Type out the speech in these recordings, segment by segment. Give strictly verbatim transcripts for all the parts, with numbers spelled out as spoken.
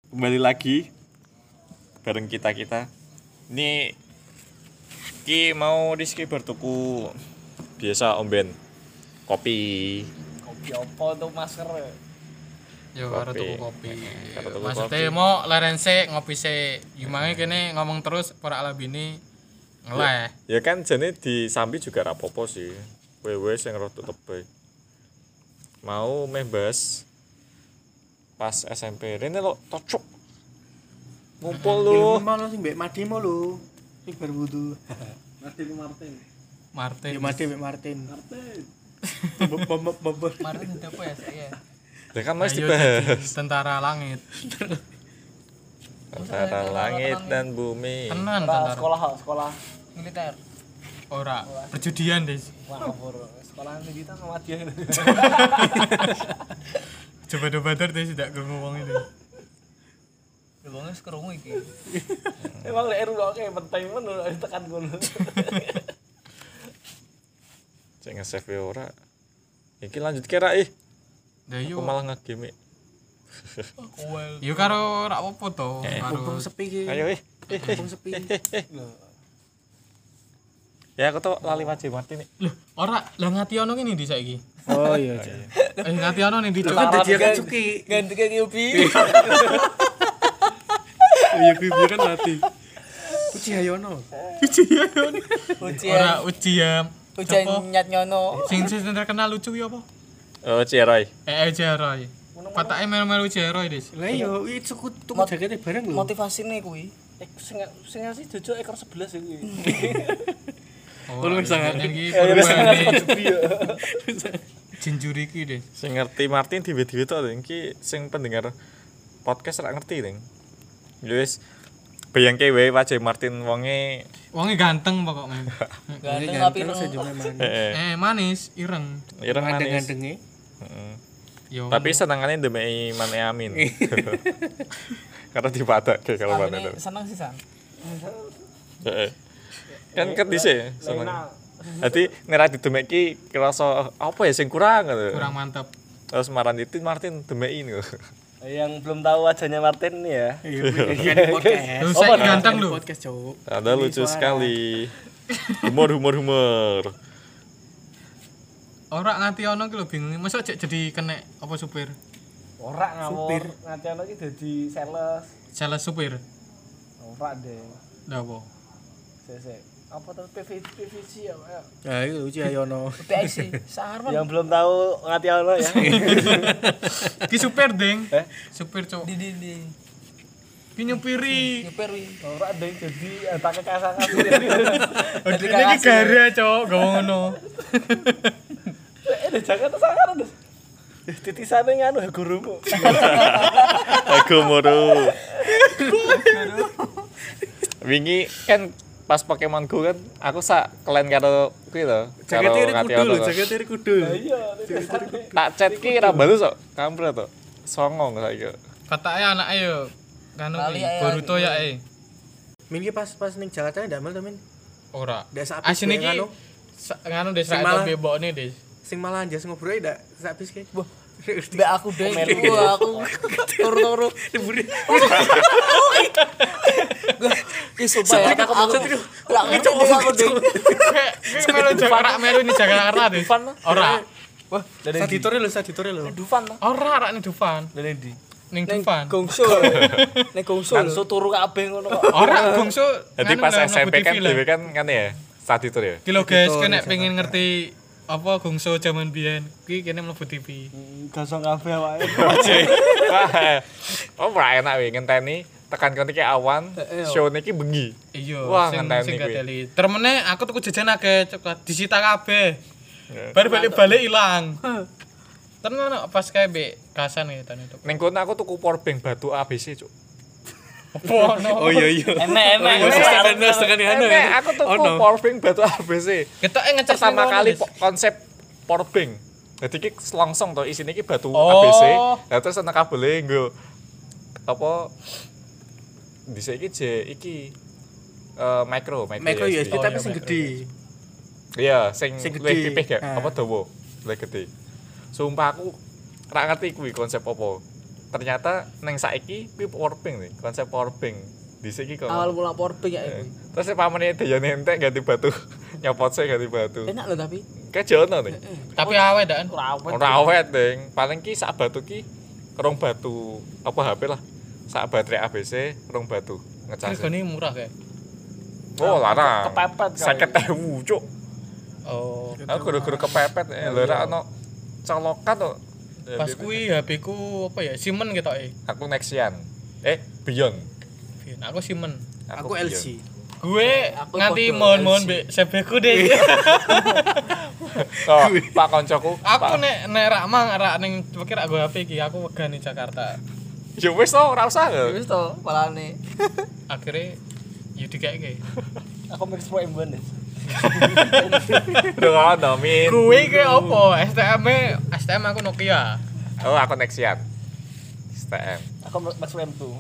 kembali lagi bareng kita-kita. Ini ki mau Rizky bertuku biasa omben kopi. Kopi apa tuh masker? Yo karo tuku kopi. Karo tuku Maksudnya kopi. mau lerense ngopi se. Gimana kene ngomong terus ora ala bini ngeleh. Ya, ya kan jane disambi juga rapopo sih. Wewe sing rada tebe. Mau meh bahas pas S M P. Rene lo tocok. Ngumpul lu. Mau lo sing mbek Madi mau lo. Sing bar wudu. Martin Martin. Martin. Ya Madi mbek Martin. Martin. Bobor. Martin itu apa ya saya? Ya kan masih Ayo dibahas. jadi tentara langit. Antara langit dan bumi. Tenan Ora tentara. sekolah sekolah militer. Ora perjudian, Des. Wah, ngapur. Sekolah militer sama dia. Coba-coba terus tidak ngomong itu. Wong wis krungu iki. Emang lek eru kok penting men tekan ngono. Cek nge-save ora. Iki lanjut kira ih. Lah Aku yo. malah nge-game. Yo karo ora apa-apa to. Mumpung Karo sepi ki. Ayo ih. Mumpung sepi. Ya aku tuh lali wajib Martin nih. Loh, ora lah Ngationo ki ndi saiki? Oh iya. Eh Ngationo ning di Kan dadi kan cuki. Ganti ke Yubi. Iya kuwi biar kan mati. Uci Hayono. Ujian. ora ujian. Ujian Apa? nyat nyono. Sing sing terkenal lucu ya apa? Oh Ciroy. Eh eh Jeroy. Patake melu-melu Jeroy, Des. Lah yo iki cuku tuku jakete bareng lho. Motivasine kuwi. Eh sing sing ngasih jojo ekor sebelas iki. Oh, Tolong sangat. iki Ya wis perubahan jinjuri iki, Des. Sing ngerti Martin diwe-diwe tok iki sing pendengar podcast ora ngerti ning. Ya wis bayangke wae wajah Martin wonge Wonge ganteng pokoknya. Ganteng tapi terus aja manis. eh Eh manis, ireng. ireng manis. Gandeng-gandenge. Heeh. Yo. Tapi senengane ndemeki Mane Amin. Karena dipadake kalau Mane. Amine seneng sih san. Heeh. Kan ket dhisik seneng. Dadi nek didemeki kerasa apa ya sing kurang gitu. kurang mantep. Terus Maran itu Martin demeki niku. Yang belum tahu wajahnya Martin nih ya. Iya, di podcast. Lu saya ganteng lu. Podcast, Cuk. Ada lucu sekali. Humor humor humor. Ora Ngationo ki lho bingung. Masa cek jadi kena apa supir? Ora ngawur. Supir. Ngatiano iki dadi sales. Sales supir. Ora deh. Lah apa? Sese. Apa tuh P V C P V C ya? ya. Ya itu Uci Hayono. P I C. Sarman. Yang belum tahu Ngatiano ya. Ki supir, Deng. Eh? Supir, Cuk. Di di di. Ki nyupiri. Nyuper wi. Ora deh jadi pakai kasangan. Jadi iki gara, Cuk, gawe ngono. Eh, deh jangan sangar deh. Titisane nganu gurumu. Aku moro. Wingi kan pas Pokemon Go kan aku sak kelen karo kuwi lho. Jakete iri kudu Ngationo lho, kok. jakete iri kudu. Iya, titisane. Tak chat ki ra balas kok. Kampret to. Songong saiki. Katake anake yo kanu Kali ae, Boruto ya eh. Min ki pas pas ning Jakarta ndak mel to Min. Ora. Ndak sak Asine iki nganu. sa- nganu Des Sing rak malah- bebokne, Des. Sing malah jas ngobrol ndak sak bis ki. Wah, Mbak aku deh, gua aku turu-turu. diburi. Ki sumpah ya, aku mau. Lah ngecok aku deh. Kayak melu Jakarta melu ini Jakarta, Des. Ora. Wah, dari Saditore lho, saditore lho. Dufan lah. Ora rak ning Dufan. Dari di. Ning Dufan. Gongso. Nek gongso. Gongso turu kabeh ngono kok. Ora gongso. Jadi nganu pas lah, S M P mlebu kan T V lah. dhewe kan kan ya saat itu ya. Ki lho guys, Betul, kene Jakarta. pengen ngerti apa gongso zaman biyen. Ki kene mlebu T V. Gosong kabeh awake. Wah. Oh, ora enak wi ngenteni tekan kon iki awan, show niki bengi. Iya, Wah, sing ngenteni sing kuwi. gadeli. Termene aku tuku jajan akeh, coklat disita kabeh. Ya. Bar balik-balik ilang. Tenan kok pas kae mbek kasan ya tani itu. Ning kono aku tuku power bank batu A B C, Cuk. Apa no? Oh iya iya. Enak-enak. Wis tekan wis tekan anu. Nek aku tuku Ono. power bank batu A B C. Ketoke ngecas Pertama ning kali kono, Des. po- konsep power bank. Jadi iki selongsong to isine iki batu Oh. A B C. Lah terus ana kabele nggo apa dhisik iki je iki eh micro, micro, Micro U S B Oh, tapi iya, sing micro gede. Iya, sing Sing luwih gede. tipis gak? Ah. Apa dawa? Luwih gede. Sumpah aku ra ngerti kuwi konsep apa. ternyata neng saiki kuwi powerbank nih, konsep powerbank. Dhisik iki kok. Awal mula powerbank ya Eh, iku. Terus si pamane Dayan entek ganti batu. Nyopot sih ganti batu. Enak lho tapi. Kayak jono nih. Tapi awet dan. Ora awet. Ora awet, Ding. Paling ki sak batu ki rong batu apa H P lah. Sak baterai A B C rong batu ngecas. Hargane murah kayak. Oh, larang. Kepepet kali. lima puluh ribu, Cuk. Oh. Aku guru-guru kepepet ya, lho ra ono colokan to. Pas kuwi H P ku apa ya? Siemens ketoke. Aku Nexian. Eh, Beyond. Aku Siemens. Aku L G. Gue Aku nganti podo mohon-mohon L C. mbek sebeku deh. Oh, Pak koncoku. Aku Pak- nek nek rak mang rak ning pikir aku H P iki aku wegah ning Jakarta. Ya wis to, ora usah. Ya wis to, palane. Akhirnya ya dikeke. Aku mix po emban. Udah ngono, Min. Kuwi ke opo? S T M -e, S T M aku Nokia. Oh, aku Nexian. S T M. Aku mix po M two.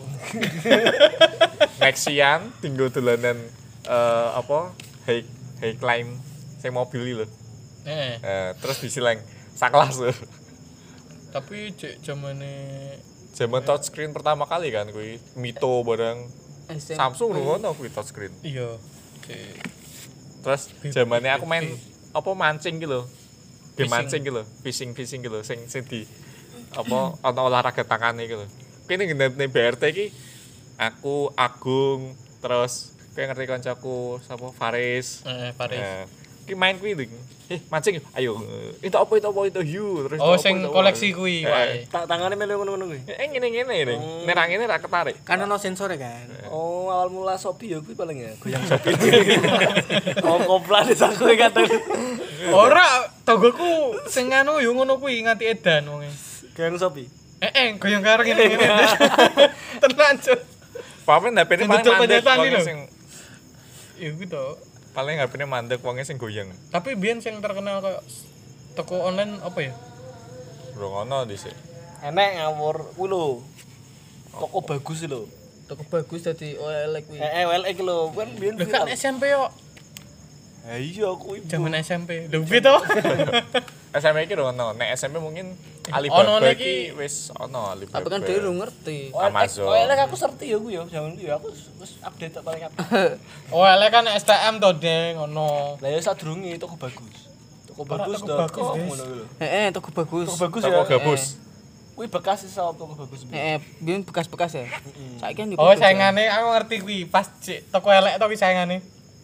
Nexian tinggal dolanan eh apa? High high climb sing mobil iki lho. Eh, Eh, terus disileng sakelas lho. tapi cek zamane Zaman touchscreen pertama kali kan kuwi Mito bareng S M P. Samsung lho ngono kuwi touchscreen. iya. Cek Terus zamannya aku main B B. apa mancing gitu lho. Game Fishing. mancing gitu lho, fishing-fishing gitu lho sing sing di apa ana olahraga tangan iki lho. Kene ngendane B R T iki aku Agung terus kowe ngerti kancaku sapa Faris. eh Paris. Eh, ki main kuwi lho. Eh, mancing yuk. Ayo. eh, Itu apa itu apa itu hiu terus Oh, itu apa, sing itu apa. koleksi kuwi Eh, wae. Tak tangane melu ngono-ngono kuwi. Eh ngene-ngene ini. Nek ra ngene ra ketarik. Kan ono sensore kan. Oh, awal mula Shopee ya kuwi paling ya, goyang Shopee. Oh, koplan aku kata. Ora, tonggoku sing anu yo ngono kuwi nganti edan wonge. Goyang Shopee. Eh, eh, goyang karo ngene-ngene. Tenan, Cuk. Papen H P-ne Sing paling tutup mandek penyetan wong iki lho. sing Ya gitu. paling H P-ne mandek wong sing goyang. Tapi biyen sing terkenal kayak toko online apa ya? Bro ngono dhisik. Enek ngawur kuwi lho. Toko bagus lho. Toko bagus dadi O L X kuwi. Eh, W L X lho, kan biyen Lah kan S M P yo, Ha iya kuwi. zaman S M P. Lho piye to? S M P iki lho ono. Nek S M P mungkin Ono Alibaba niki- iki wis ono Alibaba. Tapi kan dhewe lu ngerti. Amazon. W L X aku serti ya kuwi ya, zaman kuwi ya aku wis update tok paling update. Oh, ele kan S T M to, Deng, ngono. Lah ya sadurunge toko bagus. Toko Ora, bagus toko dot bagus, com, guys. ngono kuwi lho. Heeh, toko bagus. Toko bagus Toko ya. gabus. Kuwi bekas iso toko bagus. Heeh, biyen bekas-bekas ya. Saiki kan Oh, saingane aku ngerti kuwi. Pas cek toko elek to kuwi saingane.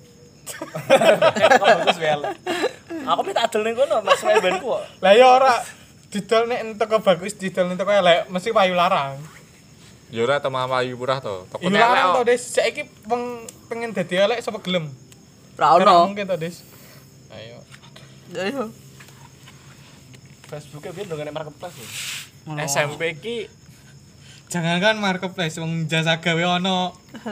Toko bagus W L X. Aku minta adol ning kono Mas Weban ku kok. Lah ya ora didol nek toko bagus didol nek toko elek mesti payu larang. Ya ora teman Ayu Murah to. Toko Payu larang to, Des. Saiki peng, pengen dadi elek sapa gelem? Ora Ora ono. mungkin to, Des. Ayo. Ayo. Facebook-e biyen ndongane marketplace lho. S M P iki Jangankan marketplace wong jasa gawe ono.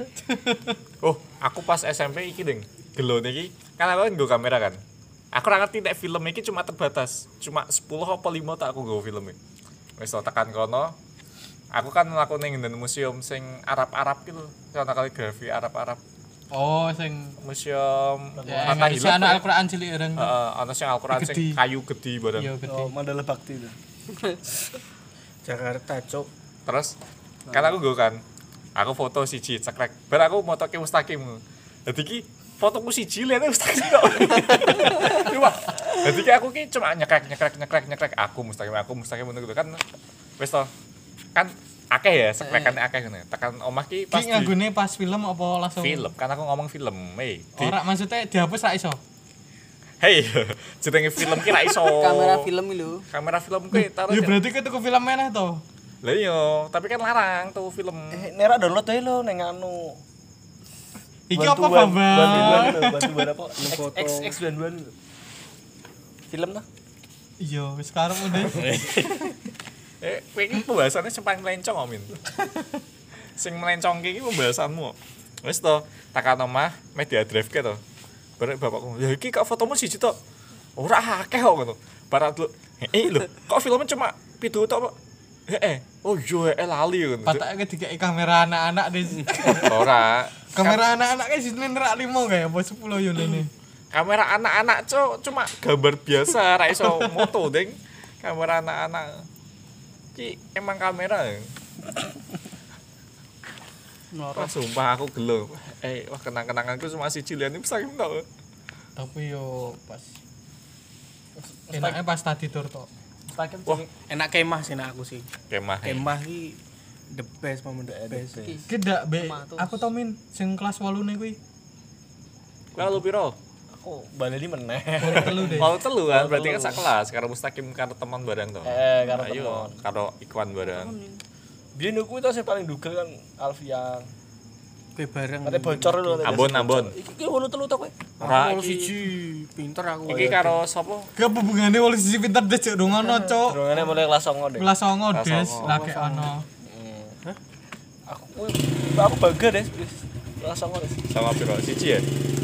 oh, aku pas S M P iki ding. Gelone iki kan aku nggo kamera kan. Aku ora ngerti nek film iki cuma terbatas. Cuma sepuluh apa lima tak aku nggo film iki. Wis to tekan kono. Aku kan mlaku ning ngene museum sing Arab-Arab gitu. Sono kaligrafi Arab-Arab. Oh, sing Museum ya, Mata Indonesia Hilal. ana Al-Qur'an cilik ireng. Heeh, ana sing Al-Qur'an sing Gede. kayu gede bareng. Iya, gede. Oh, Mandala Bakti itu. Jakarta, Cuk. Terus kan aku nggo kan. Aku foto siji cekrek. Bar aku motoke Mustaqim. Dadi ki fotoku siji lihat Mustaqim tok. Cuma dadi ki aku ki cuma nyekrek nyekrek nyekrek nyekrek aku Mustaqim aku Mustaqim ngono gitu kan. Wis to. Kan akeh ya sekrekan akeh ngene. Tekan omah ki Ki pasti nganggone pas film apa langsung? film. Kan aku ngomong film. Hei. di- Ora maksudnya dihapus ra iso. Hei, jenenge film ki ra iso. Kamera film iki lho. Kamera film ki taruh. Ya berarti ke tuku film meneh to. Lah iya, tapi kan larang tuh film. Eh, nera download ae lho ning anu. Iki apa Bantuan- Bambang? Bantuan lho, bantuan apa? Foto. X X bantuan lho. Film ta? Iya, wis sekarang udah. Eh, kowe iki pembahasannya sing paling melencong kok, Min. Sing melencong iki pembahasanmu. Wis to, tekan omah media drive ke to. Barek bapakku, "Ya iki kok fotomu siji tok." Ora akeh kok ngono. Barat lu, "Eh lho, kok filmnya cuma pitu tok, Pak?" Heeh. Oh iya, eh lali ngono. Patake dikai kamera anak-anak deh. Ora. Kamera anak-anak kayak sini nerak lima kayak apa sepuluh yo ini. Kamera anak-anak cok cuma gambar biasa, ra iso moto, Ding. Kamera anak-anak. Ki emang kamera. Wah, sumpah aku gelo. Eh, wah kenang-kenanganku cuma siji liane saking tok. Tapi yo pas enaknya pas tadi tur tok. Stakem Wah. Enak kemah sih nek aku sih. Kemah. Kemah iki the best momen the best. Ki ndak be. Aku tau min sing kelas wolu ne kuwi. Lalu piro? aku baleni meneh. Telu deh. Mau telu kan berarti kan sak kelas karo Mustaqim karo teman bareng to. Eh, karo Ayo, teman. karo Ikwan bareng. Biyen aku itu sing paling dugel kan Alfian. Kowe bareng. Kate bocor lho. Ambon Ambon. Iki ki wolu telu to kowe. Ora Aku iki. siji pinter aku. Iki karo sapa? Ke hubungane wolu sisi pinter des cuk dongono cuk. Durungane mulai kelas songo deh. Kelas songo Kelas des songo. lagi ono. Aku aku bangga deh wis. Kelas songo deh. Sama piro? Siji ya?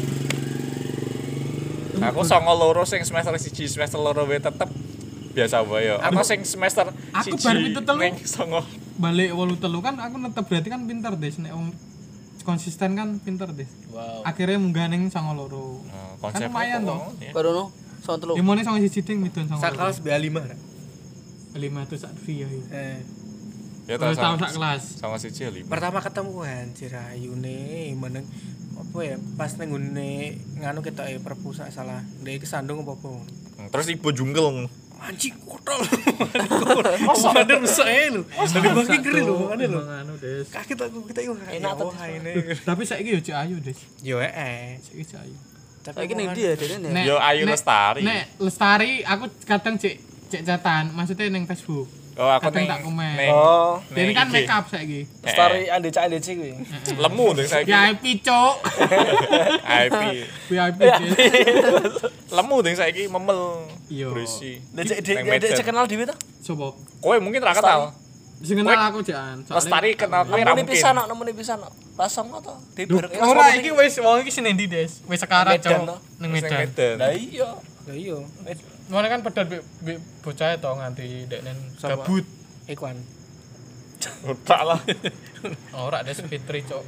Aku songo loro sing semester siji, semester loro wae tetep biasa wae ya. Aku sing semester Aku siji bar pitu telu. ning songo. Balik wolu telu kan aku netep berarti kan pinter des nek wong konsisten kan pinter des. Wow. Akhirnya munggah ning songo loro. Nah, Kan konsep lumayan apa, toh. ya. Baru no, soal telu. Dimone songo siji ding midun songo. Sak kelas B lima. lima ratus sak via. Eh, Ya Terus tak tahun sama, sak kelas. sama siji ya lima. pertama ketemu anjir ayune meneng apa ya pas ning ngene nganu ketok e perpusat salah. Ndek kesandung apa-apa. Hmm, Terus ibu jungkel. Anjing kotor. Masa ada rusak ae lho. Dari bangki keri lho makane lho. Anu des. Kaget aku kita iku Enak tuh. ini. Tapi saiki yo cek ayu des. Yo eh. Saiki cek ayu. Saiki ning ndi ya dene ya? Nek- Yo Ayu nek- Lestari. Nek Lestari aku kadang cek cek catatan, maksudnya ning Facebook. Oh, aku kadang ning tak komen. ning- Oh, Ini kan I G. make up saiki. story Ande Cak Ande Cik kuwi. Lemu ning saiki. V I P cuk. I P. V I P des. Lemu ning saiki memel. Iya. Berisi. Dek Neng dek dek Medan. kenal dhewe to? Coba. Kowe mungkin ra kenal. Sing kenal aku jan. Lestari kenal kowe ra Nemune mungkin. pisan kok, nemune pisan kok. Pas songo to. Di bareng. Ora iki wis wong iki sing endi des? Wis sekarang Medan, cuk toh. ning Ning Medan. Medan. Lah iya. Lah iya. Mana kan pedot mbek mbek bocah to nganti deknen Sama. gabut. Ikwan. Utak lah. Ora des Fitri cuk.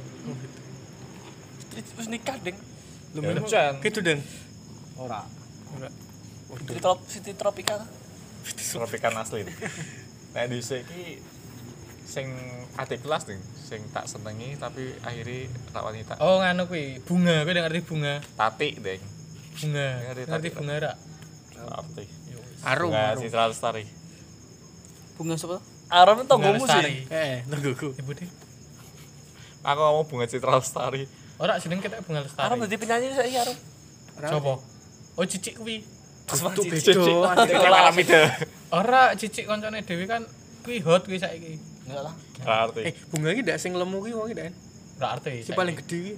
Wis nikah, Ding. Lu Ya, memang Jan. gitu deng. Ora. Ora. Siti trop Siti Tropika to. Tropikan asli. Nek dhisik iki sing adik kelas ning sing tak senengi tapi akhirnya tak wanita. Oh nganu kuwi, bunga, kowe ngerti bunga? Tati deng. Bunga. Ngerti Ngerti tadi, bunga ra? Arti. Arum. Bunga arum. Citra Lestari. Bunga sapa? Aron Bunga tonggomu Lestari. sih. Eh, tungguku. Ibu deh. Aku ngomong bunga Citra Lestari. Ora jeneng kita bunga lestari. Aron dadi penyanyi saiki Aron. Coba. Oh cicik kuwi. Tuh Cici. Cici Malamida. Ora cicik koncone dhewe kan kuwi hot kuwi saiki. Enggak lah. Arti. Eh, bunga iki ndak sing lemu ki wong iki ndak. Ora arti. Si paling gede ki.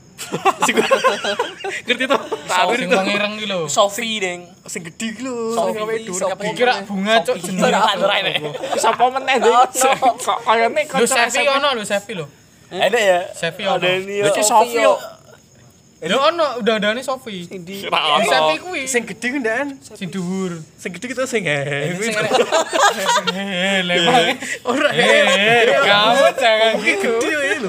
Ngerti to? sing wong ireng ki lho. Sofi, Ding. Sing gede ki lho. Sofi, Sing gawe dur Sofi. kabeh. Kira bunga cuk jenenge. Ora ora ini. Sapa meneh ding? Kok kayane Lho kanca Sevi S M P. ono lho Sevi lho. Ada ya? Sevi ono. Ada ini. Lha iki Sofi yo. Lho ono udah-udane Sofi. Di Ra Sevi ono. kuwi Sing gede ki ndak. sing dhuwur. Sing gede ki to sing eh. Eh, lemah. Ora Eh, kamu jangan gitu. gede ya lho.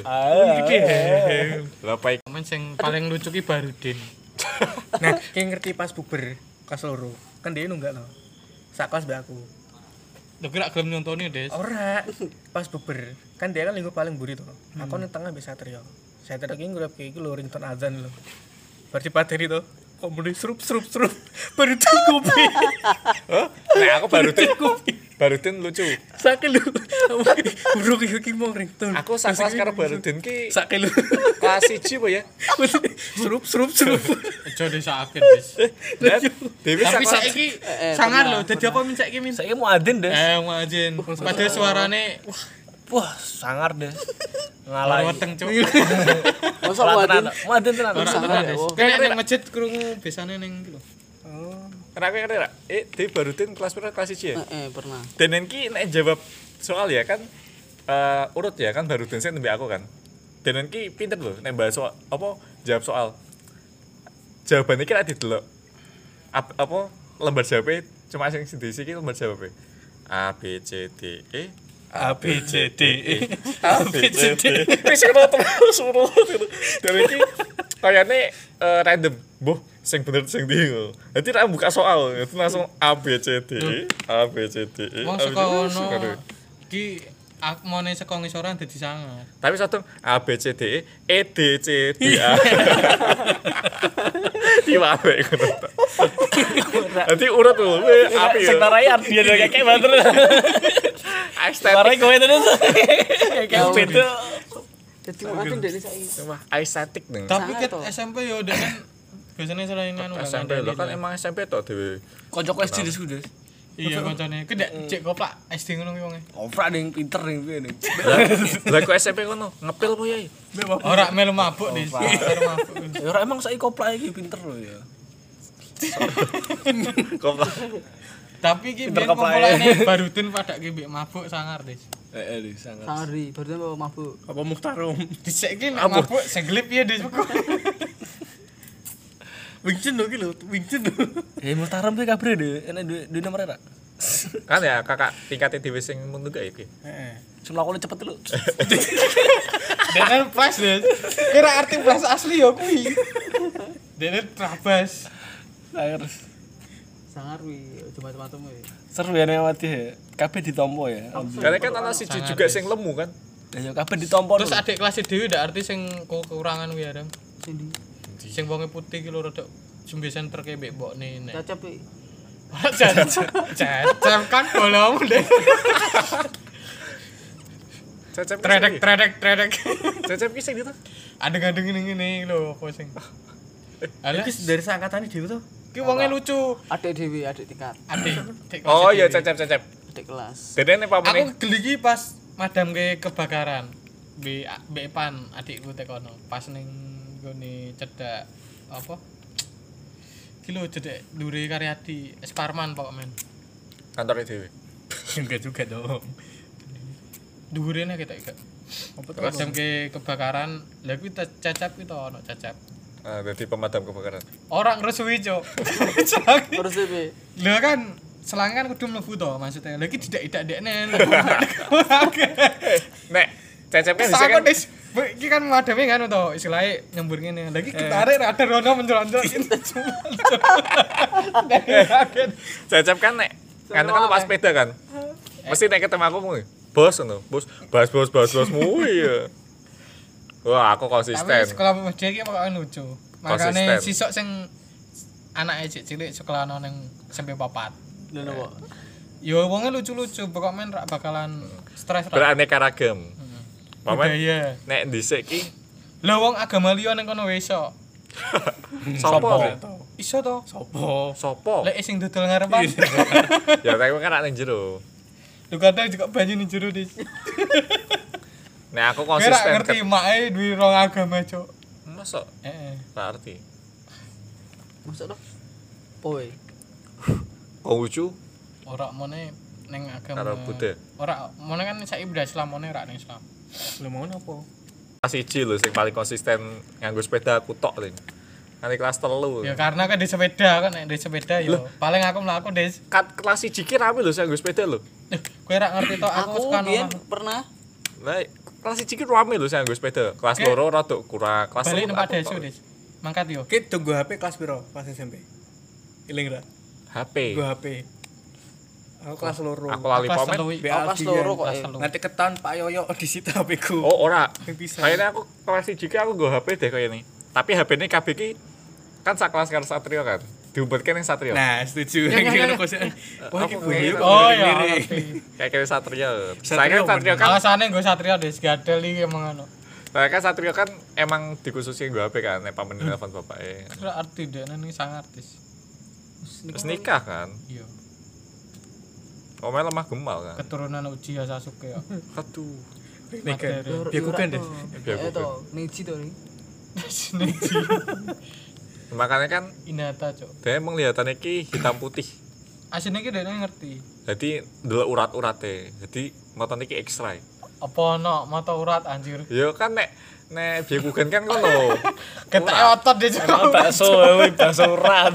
Gede. Lah paik. Momen sing paling lucu ki Barudin. Nah, ki ngerti pas buber kelas loro. Kan dia nunggak to. Sak kelas mbak aku. Lho kira gelem nyontoni, Des. Ora, pas buber. Kan dia kan lingkup paling buri to. Aku ning tengah mbek Satrio. Satrio ki ngrep iki lho ringtone azan lho. Berarti pateri to. Kok muni serup serup serup. Baru tuh kopi. Nek aku baru tin baru tin lucu. Sakit lu. Buruk iki ki mau ringtone. Aku sak kelas karo Barudin ki sakit lu. kelas siji apa ya? Serup serup serup. Aja disakit, Des. Dan Dewi sak Tapi kelas saiki sangar lho, dadi apa min saiki min? Saiki mau adin, Des. Eh, ngajin. Padahal suarane wah, Wah, sangar, Des. lara Ngalahin. weteng cuk. Masa Ora wadin? tenan. Mau adin tenan. Ora tenan, Des. Kene ning masjid krungu biasane ning iki lho. Kenapa ngerti ra? Eh, Dewi Barudin kelas pira kelas siji ya? Eh, pernah. Dan ki nek jawab soal ya kan eh, urut ya kan Barudin sing nembe aku kan. Dan ki pinter lho nek bahas soal apa jawab soal. Jawabannya ki ra didelok. Ap- apa lembar jawabnya cuma sing diisi ki lembar jawabnya. A B C D E A B C D E. A B C D wis ngono terus urut gitu. Dan iki kayane eh, random. Boh, sing bener sing ndi ngono. Dadi ra buka soal, itu langsung A B C D E A B C D E. Wong A B C D E. saka ono iki aku mau nih saka ngisoran dadi sangar. Tapi satu A B C D E E D C D A. Diwae ngono. Nanti urut lho, api ya. Sing tarai artian kayak banter. Estetik. Tarai kowe terus. Kayak beda. Jadi mau ada dari saya. Wah, estetik nih. Tapi ket Sangar, toh. S M P yo udah kan biasanya selain anu S M P lo kan emang S M P tok dhewe. Kocok S D sudah. iya kancane ku ndak cek koplak S D ngono ki wonge. Opera ning pinter ning piye ning. Lah kok S M P ngono, ngepil po yai. Ora melu mabuk Dis. Ora mabuk. Ya ora emang saiki koplak iki pinter lho ya. Koplak. Tapi ki Pinter biyen koplak kumpulane barudin pada ki mbek mabuk sangar Dis. Heeh di sangat. Sangari, baru bawa mabuk. Apa Muhtarom? Dhisik ki nek mabuk seglip ya Dis. Wingchun lho ki lho, Wingchun lho. Eh Muhtaram kuwi kabre deh, enak duwe duwe nomor ora? Kan ya kakak tingkatnya dhewe sing mundur gak iki. Heeh. Sing lakone cepet lho. Dene flash Dis. Kira arti flash asli yo kuwi. Dene trabas. Terus Sangari, cuma macam-macam ya. seru ya nek mati ya. Kabeh ditompo ya. Karena kan ana siji juga sing lemu kan. Lah ya kabeh ditompo. Terus adik kelas dhewe ndak arti sing kekurangan kuwi Adam. Sindi. Sing wonge putih ki lho rada jembesan terke mbek mbokne nek. Cacap iki. Cacap kan bolamu deh. Cecep ki Tredek sing- tredek tredek. Cecep ki sing itu. Adeng-adeng ngene lho apa sing. Alah Iki dari seangkatan dhewe to. ki wonge lucu. Adik dewi, adik tingkat, Adik. adik kelas Oh iya dhewe. cecep cecep. adik kelas. Dene nek pamane Aku geli ki pas madam ke kebakaran. Be Mbak Pan adikku tekono pas ning gone cedak apa? Ki lho cedek Dure Karyadi Esparman pokok men. kantore dhewe. Enggak juga dong. Dhuwurene kita iki. Apa to? Madam ke kebakaran, lha kuwi te- cecep ki to ono cecep. Ah, dadi pemadam kebakaran. Orang ngresui, Cuk. Terus dewi. Lah kan selang kan kudu mlebu to maksudnya. Lah iki tidak-idakne. Nek cecep kan bisa Sama kan. Des. Bu, iki kan madame kan to istilahnya nyembur ngene. Lah iki ketarik ada rono mencolot-mencolot. Cecep kan nek kan kan pas sepeda kan. Mesti nek ketemu aku mui. Bos ngono, bos, bas bos bas bosmu ya. Wah, aku Tapi konsisten. sekolah media iki pokoknya lucu. Makane Konsisten. sisok sing anake cilik sekolah nang sampai papat. Lha napa? Yo wonge lucu-lucu, pokok men rak bakalan stres ra. Beraneka ragam. Paman Budaya. nek dhisik ki Lah wong agama liya ning kono wis iso. sapa? Iso to. Sopo? Sopo? Lek sing dodol ngarepan. Ya tapi kan nek ning jero. Lu kadang juga banyu ning jero Dis. Nek aku Kira konsisten. ngerti make duwe rong agama, Cuk. Masa Heeh. ra arti. Masuk to? Poe. Konghucu Ora mone ning agama. karo Buddha. Ora mone kan saiki udah Islam mone ra ning Islam. Lho mau apa? Kelas siji lho sing paling konsisten nganggo sepeda aku tok lho. Nanti kelas telu. Ya karena kan di sepeda kan nek di sepeda yo paling aku mlaku Des. Kat kelas siji ki rame lho sing nganggo sepeda lho. Eh, kowe ra ngerti to aku Aku suka biyen nomah. pernah Lah kelas siji ki rame lho sing nganggo sepeda. Kelas Oke. loro rada kurang. Kelas Balik telu tempat aku desu tok. Des. Mangkat yo. Ki tunggu H P kelas piro pas S M P? Iling ra? H P. Tunggu H P. Aku kelas loro. Aku lali Kelas pomen. telu. Be Oh, kelas Aldi loro kan. kok, Kelas eh. telu. Nanti ketan Pak Yoyo disita H P ku. Oh ora. Yang bisa. Kayaknya aku kelas siji ki aku nggo H P deh kaya ini. Tapi H P ini K B ki kan sak kelas karo Satrio kan. Diumpetke ning Satrio. Nah, setuju. Yang ngono kok. Wah, iki Apa gue. gue? Oh ya. Kayak kayak Satrio. Saya Satrio kan Satrio kan Alasane nggo Satria Des gadel iki emang ngono. saya kan Satrio kan emang dikhususin nggo H P kan nek pamen telepon bapake. Ora arti dene ini sangat Des. Terus nikah kan. Iya. Omel lemah gemal kan. Keturunan Uchiha Sasuke ya. Aduh. Nikah. Materi. Byakugan deh. Byakugan. Eh to, Neji to nih. Neji. Makanya kan Hinata, Cuk. dia penglihatannya ki hitam putih. Asine iki dene ngerti. Jadi delok urat-urate. Jadi motone ki X-ray. Apa ono mata urat anjir. Ya kan nek nek Byakugan kan ngono. Ketek otot deh Cuk. bakso, wih bakso urat.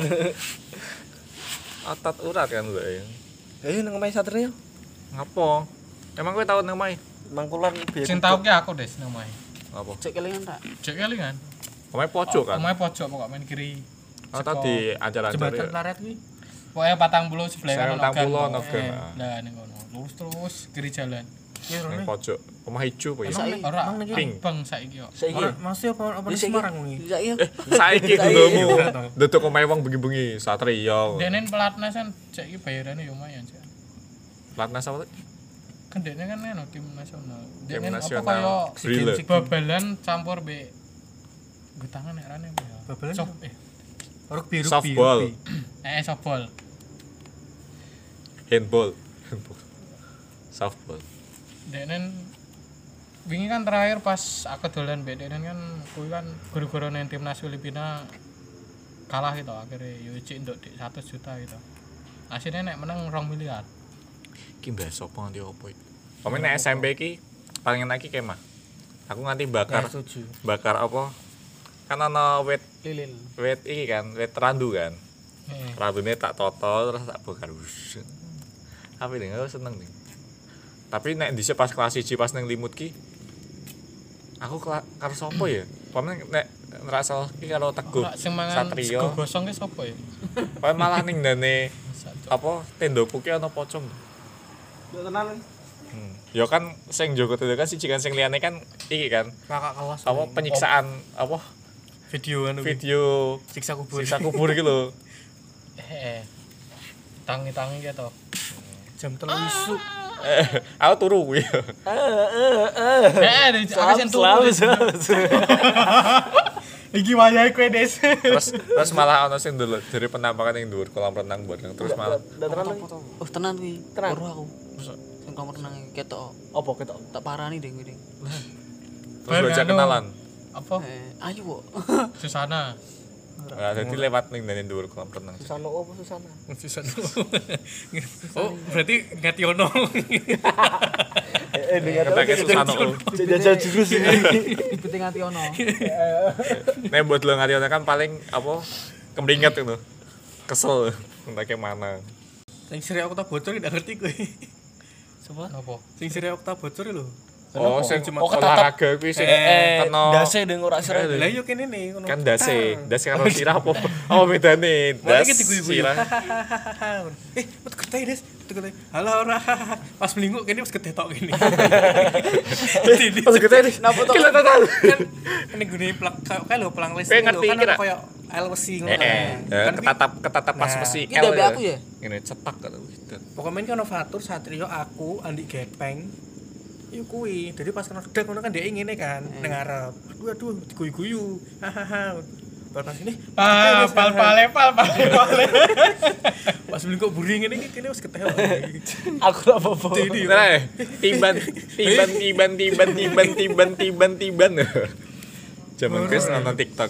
Otot urat kan lho. Ayo nang omahe Satrio. Ngapo? Emang kowe tau nang mai? Mangkulan biaya. Sing tau ki aku Des nang omahe. Apa? Cek kelingan tak? Cek kali kan. Omahe pojok kan. Omahe pojok pokok main kiri. Oh tadi acara-acara. Jembatan ya. Plaret kuwi. Pokoknya patang puluh sebelah Saya kan patang puluh ono Eh, gang. Lah ning kono. Lurus terus kiri jalan. Ya Ning rene. pojok omah ijo apa ya? Saiki. Ora Emang niki pink. bang saiki kok. Saiki. Ora masih apa apa di Semarang wingi. Saiki. Eh, saiki gulomu. Duduk omahe wong bengi-bengi Satria. Dene pelatnas kan saiki bayarane yo lumayan sih. Platnas apa tuh? Kan dene kan anu tim nasional. Tim Dene apa nasional. kaya Relay. babalan campur be getangan nek rane apa ya? Babalan Sop apa? eh Rugby rugby. Softball. rugby. eh softball. Handball. Handball. Softball. Denen wingi kan terakhir pas aku dolan mbek denen kan kuwi kan guru-guru nang timnas Filipina kalah gitu akhirnya yo cik nduk dik seratus juta gitu. Asine nek menang rong miliar. Iki mbah sapa nganti opo iki? Pamane nek S M P iki paling enak iki kemah. Aku nganti bakar Setuju. bakar apa? Kan ana wit Lilin. wit iki kan, wit randu kan. Heeh. Randune tak toto terus tak bakar. Wus. Apa ini aku seneng nih. Tapi nek dhisik pas kelas siji pas ning limut ki aku kela- karo sapa ya? Pamane nek ngrasa iki karo Teguh Ora sing mangan Satrio. sego gosong ki sapa ya? Pamane malah ning ndane apa tenda puki ana pocong. Yo tenan. Hmm. Ya kan sing Joko tenda kan siji kan sing liyane kan iki kan Kakak kelas. apa penyiksaan apa video anu video siksa kubur. siksa kubur iki lho. Eh. Tangi-tangi gitu. Jam telu isu. Eh, aku turu kuwi. Eh, aku sing Selalu turu. Iki wayahe kowe, Des. Terus terus malah ana sing ndelok dari penampakan ning dhuwur kolam renang bareng terus malah Udah tenan. lagi. Oh, tenan kuwi. Tenan. Weruh aku. Sing kolam renang ketok. Apa ketok? Tak parani ding kuwi. terus diajak Anu, kenalan. Apa? Eh, ayo kok. Susana. Nah, jadi lewat ning ndane dhuwur kolam renang. Susana apa Susana? Bisa. Oh, berarti Ngationo. Eh dengar Ketake Susano. jajal jurus ini. Dibeting ati ono. Nek buat lo ngati kan paling apa kemringet itu. Kesel entah mana. Sing sire aku tak bocor ndak ngerti kowe. Coba. Apa? Sing sire aku tak bocor lho. Oh, sing Oh, ketatap. olahraga kuwi sing Eh, kena dase deng ora sira. Lah yo kene ne ngono. kan dase, dase karo sirah apa? Apa bedane? Das Mari kita guyu-guyu. sirah. Eh, metu getih, Des. Metu getih. Halo ora. Pas melingkuk kene pas getih tok kene. Pas gede nih. Napa tok? Gila total. Kan ini gune plak kayak lho pelang listrik Kowe lho ngerti kan iki ada ra? koyo L besi ngono. Eh, eh, kan. Kan ketatap ketatap pas Nah, besi iki ndek aku ya? Ngene cetak kan. pokoknya kan Novatur, Satrio, aku, Andi Gepeng. Iku kuwi. Jadi pas kena gedek ngono kan dia ngene kan, ning ngarep. Aduh aduh diguyu-guyu. Hahaha. Pas ini Ah, pal pale pal pale pale. pas melingkuk buri ngene iki kene wis getih. Aku ora apa-apa. Nah, tiban tiban tiban tiban tiban tiban tiban tiban. Zaman Chris nonton TikTok.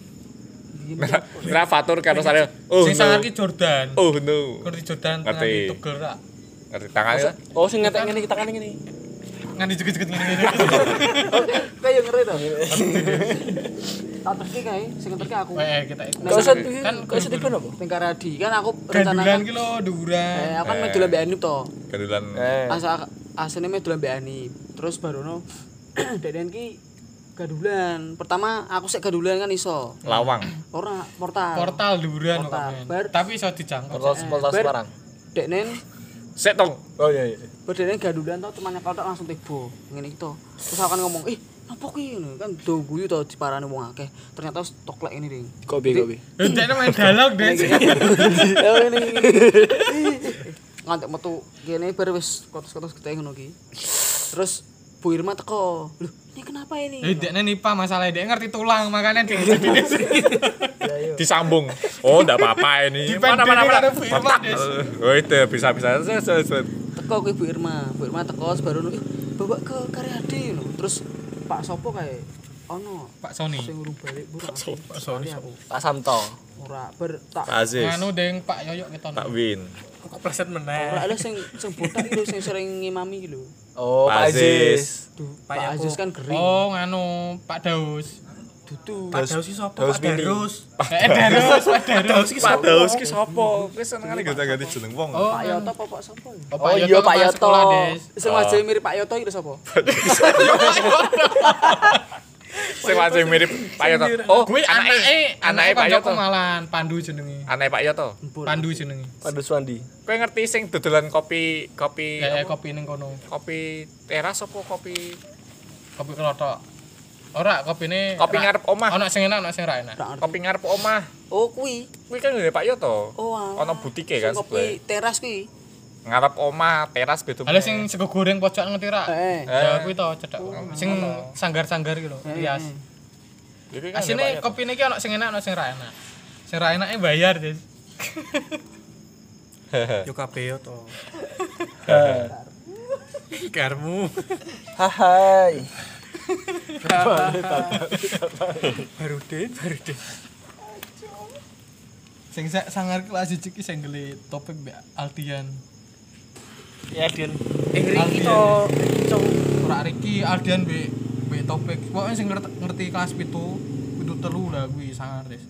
Nah, Fatur karo saya. Oh, Sing no. sangar ki Jordan. Oh no. Ngerti Jordan Ngerti. nganti tugel ra. Ngerti tangannya? Oh sing ngetek ngene kita kan ngene. Nganti jeget-jeget ngene-ngene. Kayak ngerti to. Tak terki kae, sing terki aku. Eh, kita ikut. Kau set Kan kau set apa? Ning Karadi kan aku gandulan rencana ki lho duran. Eh, aku kan Eh. medu lambe Anip to. Gandulan. Eh. Asa asline medu lambe Anip. Terus barono deden ki gadulan. Pertama aku sik gadulan kan iso. Lawang. Ora portal. Portal duran kok. Portal. men. Bar- Tapi iso dijangkau. Portal portal Ber- Semarang. Deknen Sik tong. Oh iya iya. berdene gadulan to cuman nyekel tok langsung tebo. Ngene iki to. Terus aku kan ngomong, "Ih, apa ki ngono?" Kan do guyu to diparani wong akeh. Ternyata wis toklek ini ring. Kopi kopi. Ndekne main dialog Des. Ya ini. Ngantek metu kene bar wis kotos-kotos getih ngono ki. Terus Bu Irma teko. Loh, ini kenapa ini? Eh, ndekne nipa masalah ndek ngerti tulang makanya dia. Disambung. Oh, enggak apa-apa ini. Mana mana mana. Dipendek karo Bu Irma, Des. Oh, itu bisa-bisa. Set, set, set. Teko kuwi Bu Irma. Bu Irma teko baru ih bawa ke Karyadi ngono. Terus Pak sopo kae? Ono Pak Sony. sing urung balik Bu. Pak Sony, aku. Pak Santo. Ora ber tak Pak Aziz. Nganu deng Pak Yoyok keton. Pak Win. Kok pleset meneh. ora ada sing sing botak iki lho sing sering ngimami iki lho. Oh Pak Pak Aziz. Duh, Pak Pak Yakob. Aziz kan gering. Oh, nganu Pak Daus. Dudu. Pak Daus iki sapa? Daus Pak Mini. Darus. Eh, Darus, Pak Darus. Pak Daus ki sapa? Wis senengane ganti jeneng wong. Oh, Pak Yoto apa Pak sapa ya? Oh iya Pak kepala Yoto. sekolah, Des. Sing wajah mirip Pak Yoto iki lho sapa? Sing wajah mirip Pak Yoto. Oh, Kuwi anake anake Pak kancaku Yoto. malan, Pandu jenenge. Anake Pak Yoto. Pandu jenenge. Pandu Swandi. Kowe ngerti sing dodolan kopi kopi Eh apa? kopi ning kono. Kopi teras apa kopi Kopi kelotok. Ora kopine kopi ngarep omah. Ana sing enak, ana sing ra enak. Kopi ngarep omah. Oh kuwi. Kuwi kan ngene Pak Yoto. Oh. alah. Ana butike kan Sing sebelah. kopi teras kuwi. Ngarep omah, teras beda. Ada sing sego goreng pojok ngerti ra? Heeh. Ya kuwi to cedhak. Sing sanggar-sanggar iki lho, rias. Iki kan Asine kopine iki ana sing enak, ana sing ra enak. Sing ra enake bayar, Des. Yo kabeh yo to. Karmu. Hai. Baru deh, baru deh. Sing sa- sangar kelas siji ki sing gele topik mbek Aldian. Ya Din. Eh Riki Aldian. to, Riki to. Ora Riki Aldian mbek mbek topik. Pokoke sing ngerti, ngerti kelas pitu, pitu telu lah kuwi sangar, Des.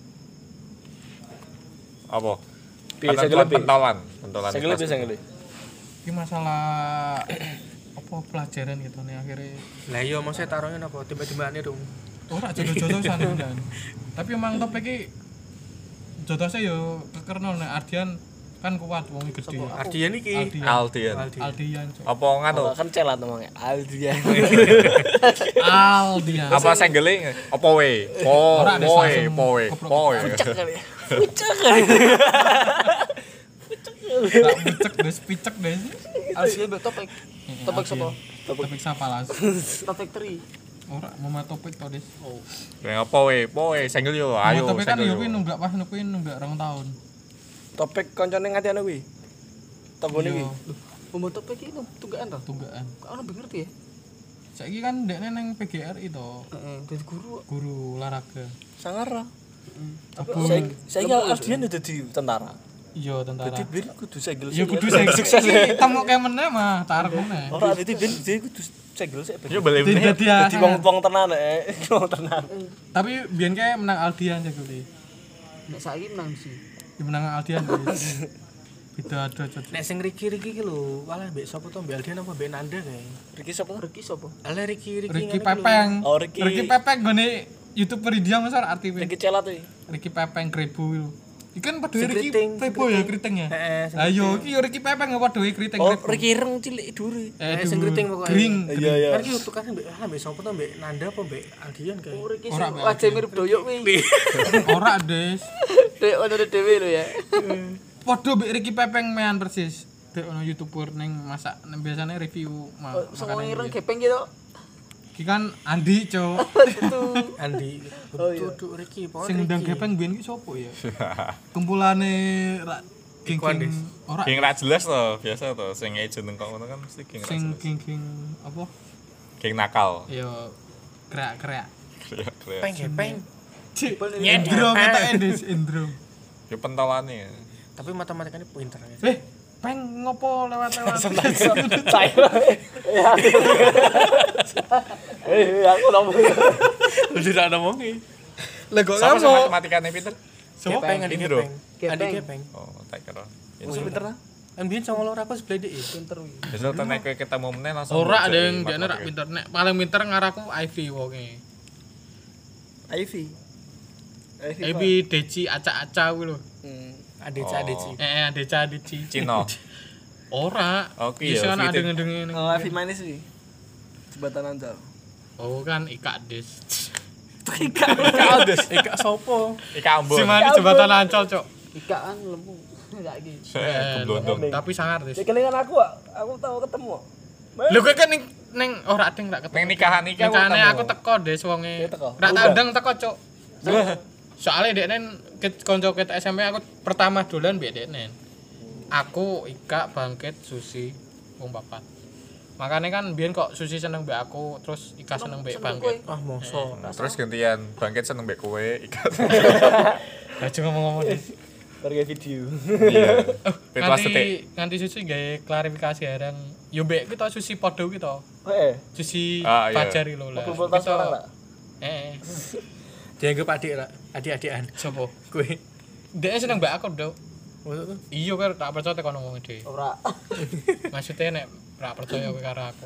apa? Piye, Pentolan, segele piye? pentolan, pentolan. Senggele piye senggele? Iki masalah apa pelajaran gitu nih akhirnya Lah iya maksudnya taruhnya apa? Tiba-tibane dong. ora jodoh-jodohan dan tapi emang topik iki jodohnya yo kekerno nek Ardian kan kuat wong gede. Ardian iki. Aldian. Aldian. Aldian. Aldian. Cok. Apa nganu? Oh, kan celat ngomongnya. Aldian. Aldian. Apa senggele? Apa we? Po, Ora, Des, po, we, langsung po, we, goblok. po. we. Tak picek des, picek des. Aldian mbek topik. Topik sapa? Topik sapa las? Topik tri. Ora mama topik to des. Ya apa we? Po we, senggel yo. Ayo, Mama topik kan senggel yo kuwi yo. nunggak pas kuwi nunggak rong tahun. Topik koncone ngatiane kuwi. Tanggone kuwi. Iya, Mbok topik iki tunggakan to. tunggakan. Kok ono ngerti ya? Saiki kan dekne nang P G R I to, Heeh, dadi guru. guru olahraga. Sangar. Tapi Saiki saiki Aldian udah dadi tentara. iya tentara. Dadi bir kudu senggel. Ya kudu sing sukses iki temu ke meneh mah tarep meneh. Ora dadi bir dadi kudu senggel sik. Yo beli Dadi meneh. dadi Dadi wong-wong tenan eh. Wong tenan. Tapi biyen kae menang Aldian ya kuwi. Nek saiki menang sih. Di menang Aldian. guys. Beda ada cocok. Nek sing Riki Riki iki lho, walah mbek sapa to mbek Aldian apa mbek Nanda kae. Riki sapa? Reki sapa? Alah Riki Riki. Ricky ngene iki lho. Pepeng. Oh, Ricky. Ricky Pepeng gone YouTuber India Mas arti Riki celat kuwi. Ricky Pepeng Kribo lho. Ikan padha Si Ricky keriting, si Kribo ya kriting ya. Heeh, sing Ayo iki yo Ricky Pepeng padha kriting Oh, Kribo. Riki ireng cilik dure. Eh Eh, sing kriting pokoknya. Gring. Iya iya. Kan iki tukane mbek ah mbek sapa to mbek Nanda apa mbek Aldian kae. Oh, Reki Ora, sing Mbak wajah mirip doyok kuwi. Ora des. Dek ono dhewe lho ya. Padha mbek Ricky Pepeng mean persis. Dek ono YouTuber ning masak ning biasane review ma- Semua makanan. ireng dia. gepeng gitu. Iki kan Andi, Cuk. Andi. Duduk Riki, pokoknya Sing ndang Riki. gepeng biyen ki sapa ya? Kumpulane ra Ikuan, geng-geng Des. ora Geng ra jelas to, biasa to. Sing ejen nang kono kan mesti geng ra sing jelas. geng-geng apa? Geng nakal. Ya kreak-kreak. Kreak-kreak. Peng gepeng. Indro kita Des, Indro. Yo pentolane. Tapi matematikanya pinter ya. Eh, peng ngopo lewat-lewat. Saya. Eh, aku ngomong. Udah tak ngomongi. Lah kok Sama kamu? matematikane pinter. Siapa peng Andi Indro. gepeng? Gepeng. Andi gepeng. Oh, tak kira. Masuk pinter lah. Kan biyen sama loro aku sebelah dhek. Pinter kuwi. Besok tenek kowe ketemu meneh langsung. Ora belajar ada yang di dia rak matematika. pinter. Nek paling pinter ngaraku Ivy wonge. Ivy. Ivy. Ivy Deci acak-acak kuwi lho. Hmm. Adeci Oh. adeci. Eh, Deca Deci. Cina. Ora. Oke, Bisa ya, kan ada Vita. ngedenge Oh, Ivy manis sih. Jembatan Anjal. Oh kan Ika Des. Ika. Kaldes. Eka sopo? Ika Ambon. Si mana jembatan Ancol, Cok. Ika kan lembu. Saiki. Eh, Keblondong. Tapi sangar Des. Ya kelingan aku, Wak. Aku tahu ketemu. Lho kowe kan ning ning ora ding rak ketemu. Neng nikahan iki aku Nikahane ketemu. aku teko Des wonge. Dia teko? Rak tak Undang? undang teko, Cok. Soalnya dekne ket kanca ket S M P aku pertama dolan mbek dekne. Aku Ika Bangkit Susi wong papat. Makanya kan biyen kok Susi seneng mbek aku, terus Ika seneng mbek Bangkit. Ah moso. Nah, terus gantian Bangkit seneng mbek kowe, Ika. Aja ngomong-ngomong Des. Harga video. Iya. Kelas detik. Nganti nganti Susi gawe klarifikasi areng. Yo mbek kita Susi padha ki to. Oh, eh. Susi Ah, iya. pacar iki lho lah. Mobil voltas Kita- orang, Pak. Eh, Dianggap adik lah, adik-adikan. sopo? Kowe. Dia seneng mbak aku, Dok. Maksud tuh? Iya kan tak percaya tekan ngomong dhewe. Ora. Maksudnya nek ora percaya kowe karo aku.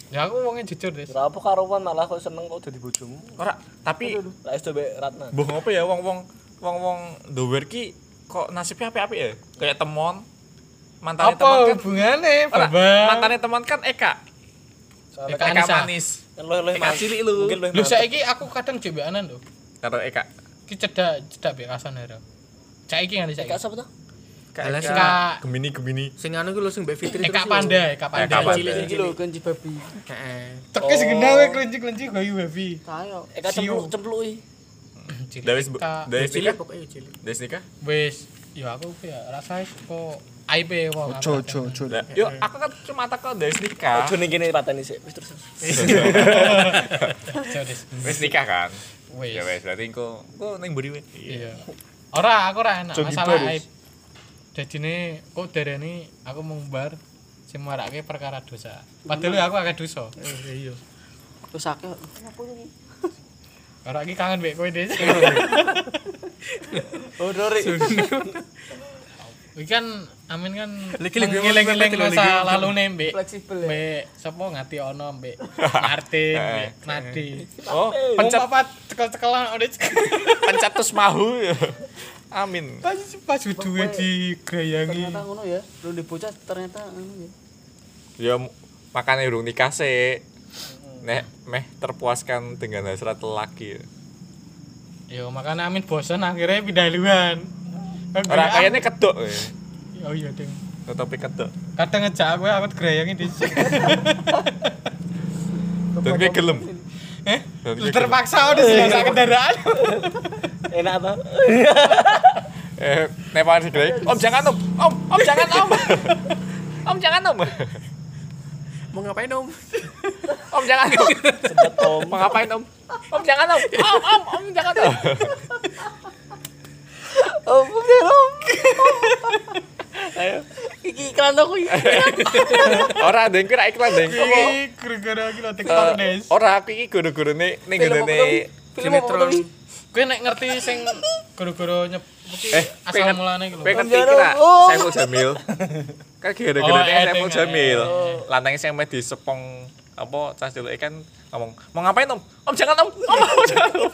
Ya aku wongnya jujur, Des. Ora apa karuan malah kok seneng kok dadi bojomu. Ora, tapi Lah es coba Ratna. mbuh ngopo ya wong-wong wong-wong dower ki kok nasibnya apik-apik ya? Kayak temon. Mantane temon Apa kan. hubungannya, Ora, Bambang? mantane temon kan Eka. Eka Eka Anissa. manis. Kan lo lo Eka cilik lu. Mungkin lo Lho saiki aku kadang jebeanan lho. Karo Eka. Ki cedak cedak bekasan ya. Saiki nganti saiki. Eka sapa tuh? Alah, Eka Eka- Gemini-Gemini. Sing anu ku lho sing Mbak Fitri Eka terus lho. Panda, Eka Panda. Eka Panda. Cilik iki lho kenci babi. Heeh. Tekis genah kowe kelinci-kelinci gayu babi. Kayo. Eka cempluk cempluki. Dawis Dawis Cilik nikah. pokoknya cilik. Dawis nikah. Wis, ya aku ku ya rasa kok aib e wong. Ojo ojo ojo. Lah, yo aku kan cuma takut Dawis nikah. Ojo ning kene pateni sik. Wis terus. Wis nikah kan? Wis. Ya wis, berarti engko engko ning mburi wis. Iya. Ora, aku ora enak Jogi masalah baris. aib. Dadine kok dereni aku mengumbar sing marake perkara dosa. Padahal aku akeh dosa. Iya. Wis akeh. Apa iki? Ora iki kangen mbek kowe, Des. Oh, Dori. Iki kan Amin kan Lagi- lagi- ngeling-eling lagi- lagi- masa lagi- lalu nih mbek Fleksibel ya. mbek sapa ngati ono mbek Martin, mbek Nadi. Oh, Pencet pencet apa cekel-cekelan udah pencet terus mahu. Amin. pas pas duwe digrayangi. Ternyata ngono ya. Lu di bocah ternyata ngono ya. Ya makanya urung nikah sih. Nek meh terpuaskan dengan hasrat lelaki. Yo makanya Amin bosan akhirnya pindah haluan. Ora kayaknya kedok. ya. Oh iya, Ding. Tetapi kedok. Kadang ngejak aku aku digrayangi di Dan kayak gelem. Eh, Dan kayak gelem. terpaksa udah sih sak kendaraan. Enak ta? Eh, nek paling digelem. Om jangan om. Om, om jangan om. Om jangan om. Mau ngapain Om? Om jangan om. Sedot om. Mau ngapain om? Om jangan om. Om, om, om jangan om. Oh, belum. Ayo. Iki iklan aku iki. Ora deng kira iklan deng. Iki gara-gara iki lho TikTok, Des. Ora aku iki guru-gurune ning ngene Sinetron. Kowe nek ngerti sing gara-gara nyep iki Eh, asal pengen- mulane iki lho. Kowe ngerti kira Oh. Saiful Jamil. Kan gara-gara Oh, Saiful edeng, Jamil. eh. Lanangnya sing meh disepong apa cah cilik kan ngomong, "Mau ngapain, Om? Om jangan, Om. Om, om jangan." Om."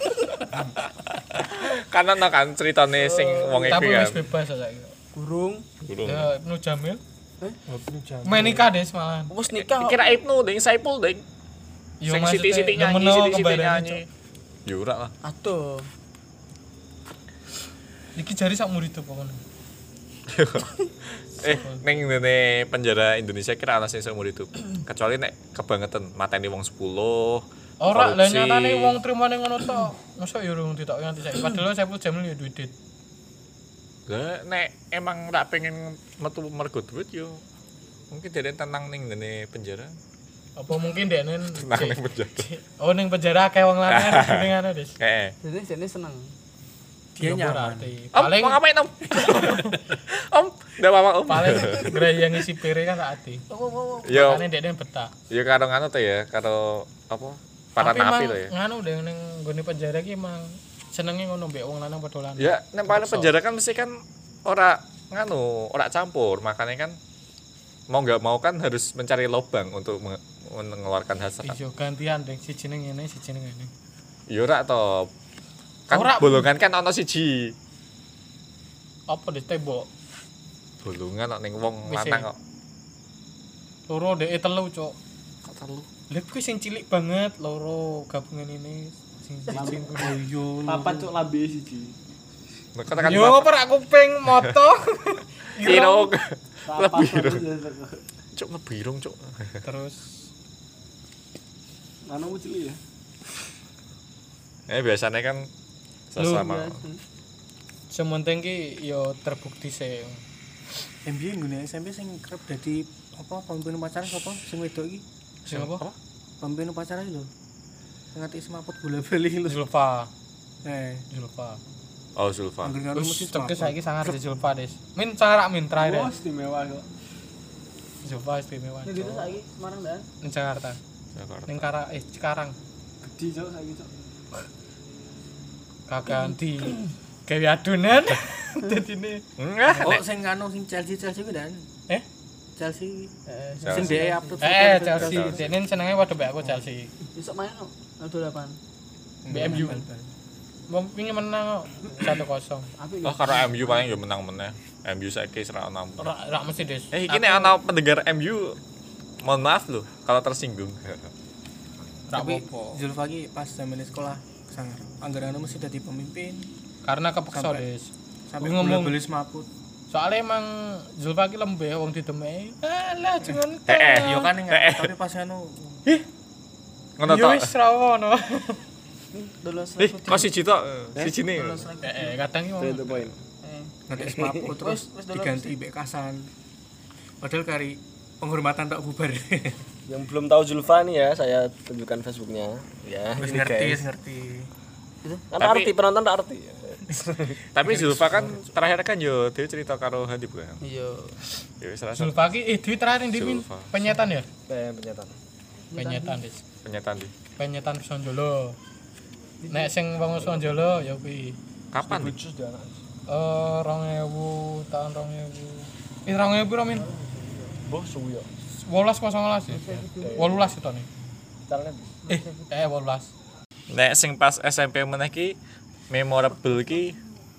Kan ana kan ceritane sing wong iki Tapi kan. wis bebas saiki. Burung. Gurung. Ya Ibnu Jamil. Eh? Main nikah Des malahan. Wis nikah. Kira Ibnu deng Saiful deng. Yo Sing maksudnya siti-siti nyanyi, nemeno siti-siti kembarane, nyanyi. Cuk. Ya ora lah. Aduh. Iki jari sak murid tuh pokoknya. Eh, ning ngene penjara Indonesia kira ana sing seumur hidup. Kecuali nek kebangetan mateni wong sepuluh. Ora, lah korupsi. nyatane wong trimane ngono tok. Masa yo urung ditok nganti saiki. Padahal Saiful Jamil yo duwe dit. Lah nek emang ora pengen metu mergo duit yo mungkin dia tenang ning ngene penjara. Apa mungkin dekne Tenang ning penjara. Oh ning penjara akeh wong lanang ning ana, Des. Kayak Jadi jadi seneng. Dia Ya, nyaman. berarti. Om, Paling mau ngapain Om? Om, udah apa Om? paling grayangi si Pere kan tak ati. Yo, Makane dekne betah. yo karo nganu tuh ya, karo apa? Para Tapi napi emang tuh ya. nganu deh ning nggone penjara ki emang senenge ngono mbek wong lanang padha lanang. Ya, nek paling penjara kan mesti kan ora nganu, ora campur, makanya kan mau nggak mau kan harus mencari lubang untuk menge- mengeluarkan hasrat. Iya gantian deh siji ning ngene siji ning ngene. Yo ora to. Kan Ora. bolongan kan ana siji. Apa di tembok? Bolongan kok ning wong Wis, lanang kok. Loro dhek telu, Cuk. Kok terlalu. Lha kuwi sing cilik banget loro gabungan ini sing sing Yo. Papat cuk lambe siji. Nek katakan Yo apa rak kuping moto. irung. Papat Lebih irung. terus. Cuk ngebirung, Cuk. Terus Anu cilik ya. Eh biasanya kan sesama. sementing ki yo terbukti sih. M B nggone S M P sing kerep dadi apa pemimpin upacara sapa sing wedok iki? Sing apa? Pemimpin upacara iki lho. Sing ngati semaput bola-bali lho. Zulfa. Eh, Zulfa. Oh, Zulfa. angger ngono Wis mesti tekes semaput. saiki sangat di Zulfa, Des. Min cara min terakhir. Oh, istimewa kok. Zulfa istimewa. Ini gitu saiki Semarang dan. Ning Jakarta. Jakarta. Ning Kara eh Cikarang. Gede cuk saiki cuk. Kaganti gawe adonan dadine. Enggak, Oh, nek sing anu sing Chelsea Chelsea ku dan. Eh? Chelsea. Eh, Sing dhek upload foto. Eh, itu Chelsea. Dene senenge padha mbek aku Chelsea. besok main kok. Ada delapan. B M U. Wong wingi menang kok satu kosong. Apik. Oh karo M U paling ya menang meneh. M U saiki ora ono. Ora ora mesti Des. Eh iki nek ana pendengar M U mohon maaf loh kalau tersinggung. Ora Tapi apa-apa. Zulfa ki pas zaman sekolah sangar. Anggaran mesti dadi pemimpin Karena kepeksa Sampai- Des. sampai Gue ngomong- bola-bola semaput. Soalnya emang Zulfa ki lembeh wong didemeki. Alah jengon. Eh, eh. Yo kan enggak, tapi pas anu Ngono Yo tok. wis ra ono. Dolos. Eh, kok siji tok? Siji ne. Eh, eh, kadang ki wong. Itu poin. nanti semaput terus Wis- wis dulu diganti mbek kasan. Padahal kari penghormatan tak bubar. Yang belum tahu Zulfa nih ya, saya tunjukkan Facebooknya. Ya, Wis ini ngerti, guys. wis ngerti. Kan Tapi- arti penonton tak arti. Tapi Zulfa kan terakhir kan yo dia cerita karo Habib kan. Iya. Ya wis rasa Zulfa ki eh duit terakhir ndi Min? Zulfa. Penyetan ya? Kayak penyataan. Penyetan Des. penyetan di. Penyetan Sonjolo. Nek sing wong Sonjolo ya kuwi. Kapan? Di? Eh rong ewu tahun rong ewu. Eh rong ewu piro Min? Boh suwi ya. Wolas kosong wolas ya. Wolulas itu nih. Caranya Eh, eh wolas. Nek sing pas S M P meneh ki memorable ki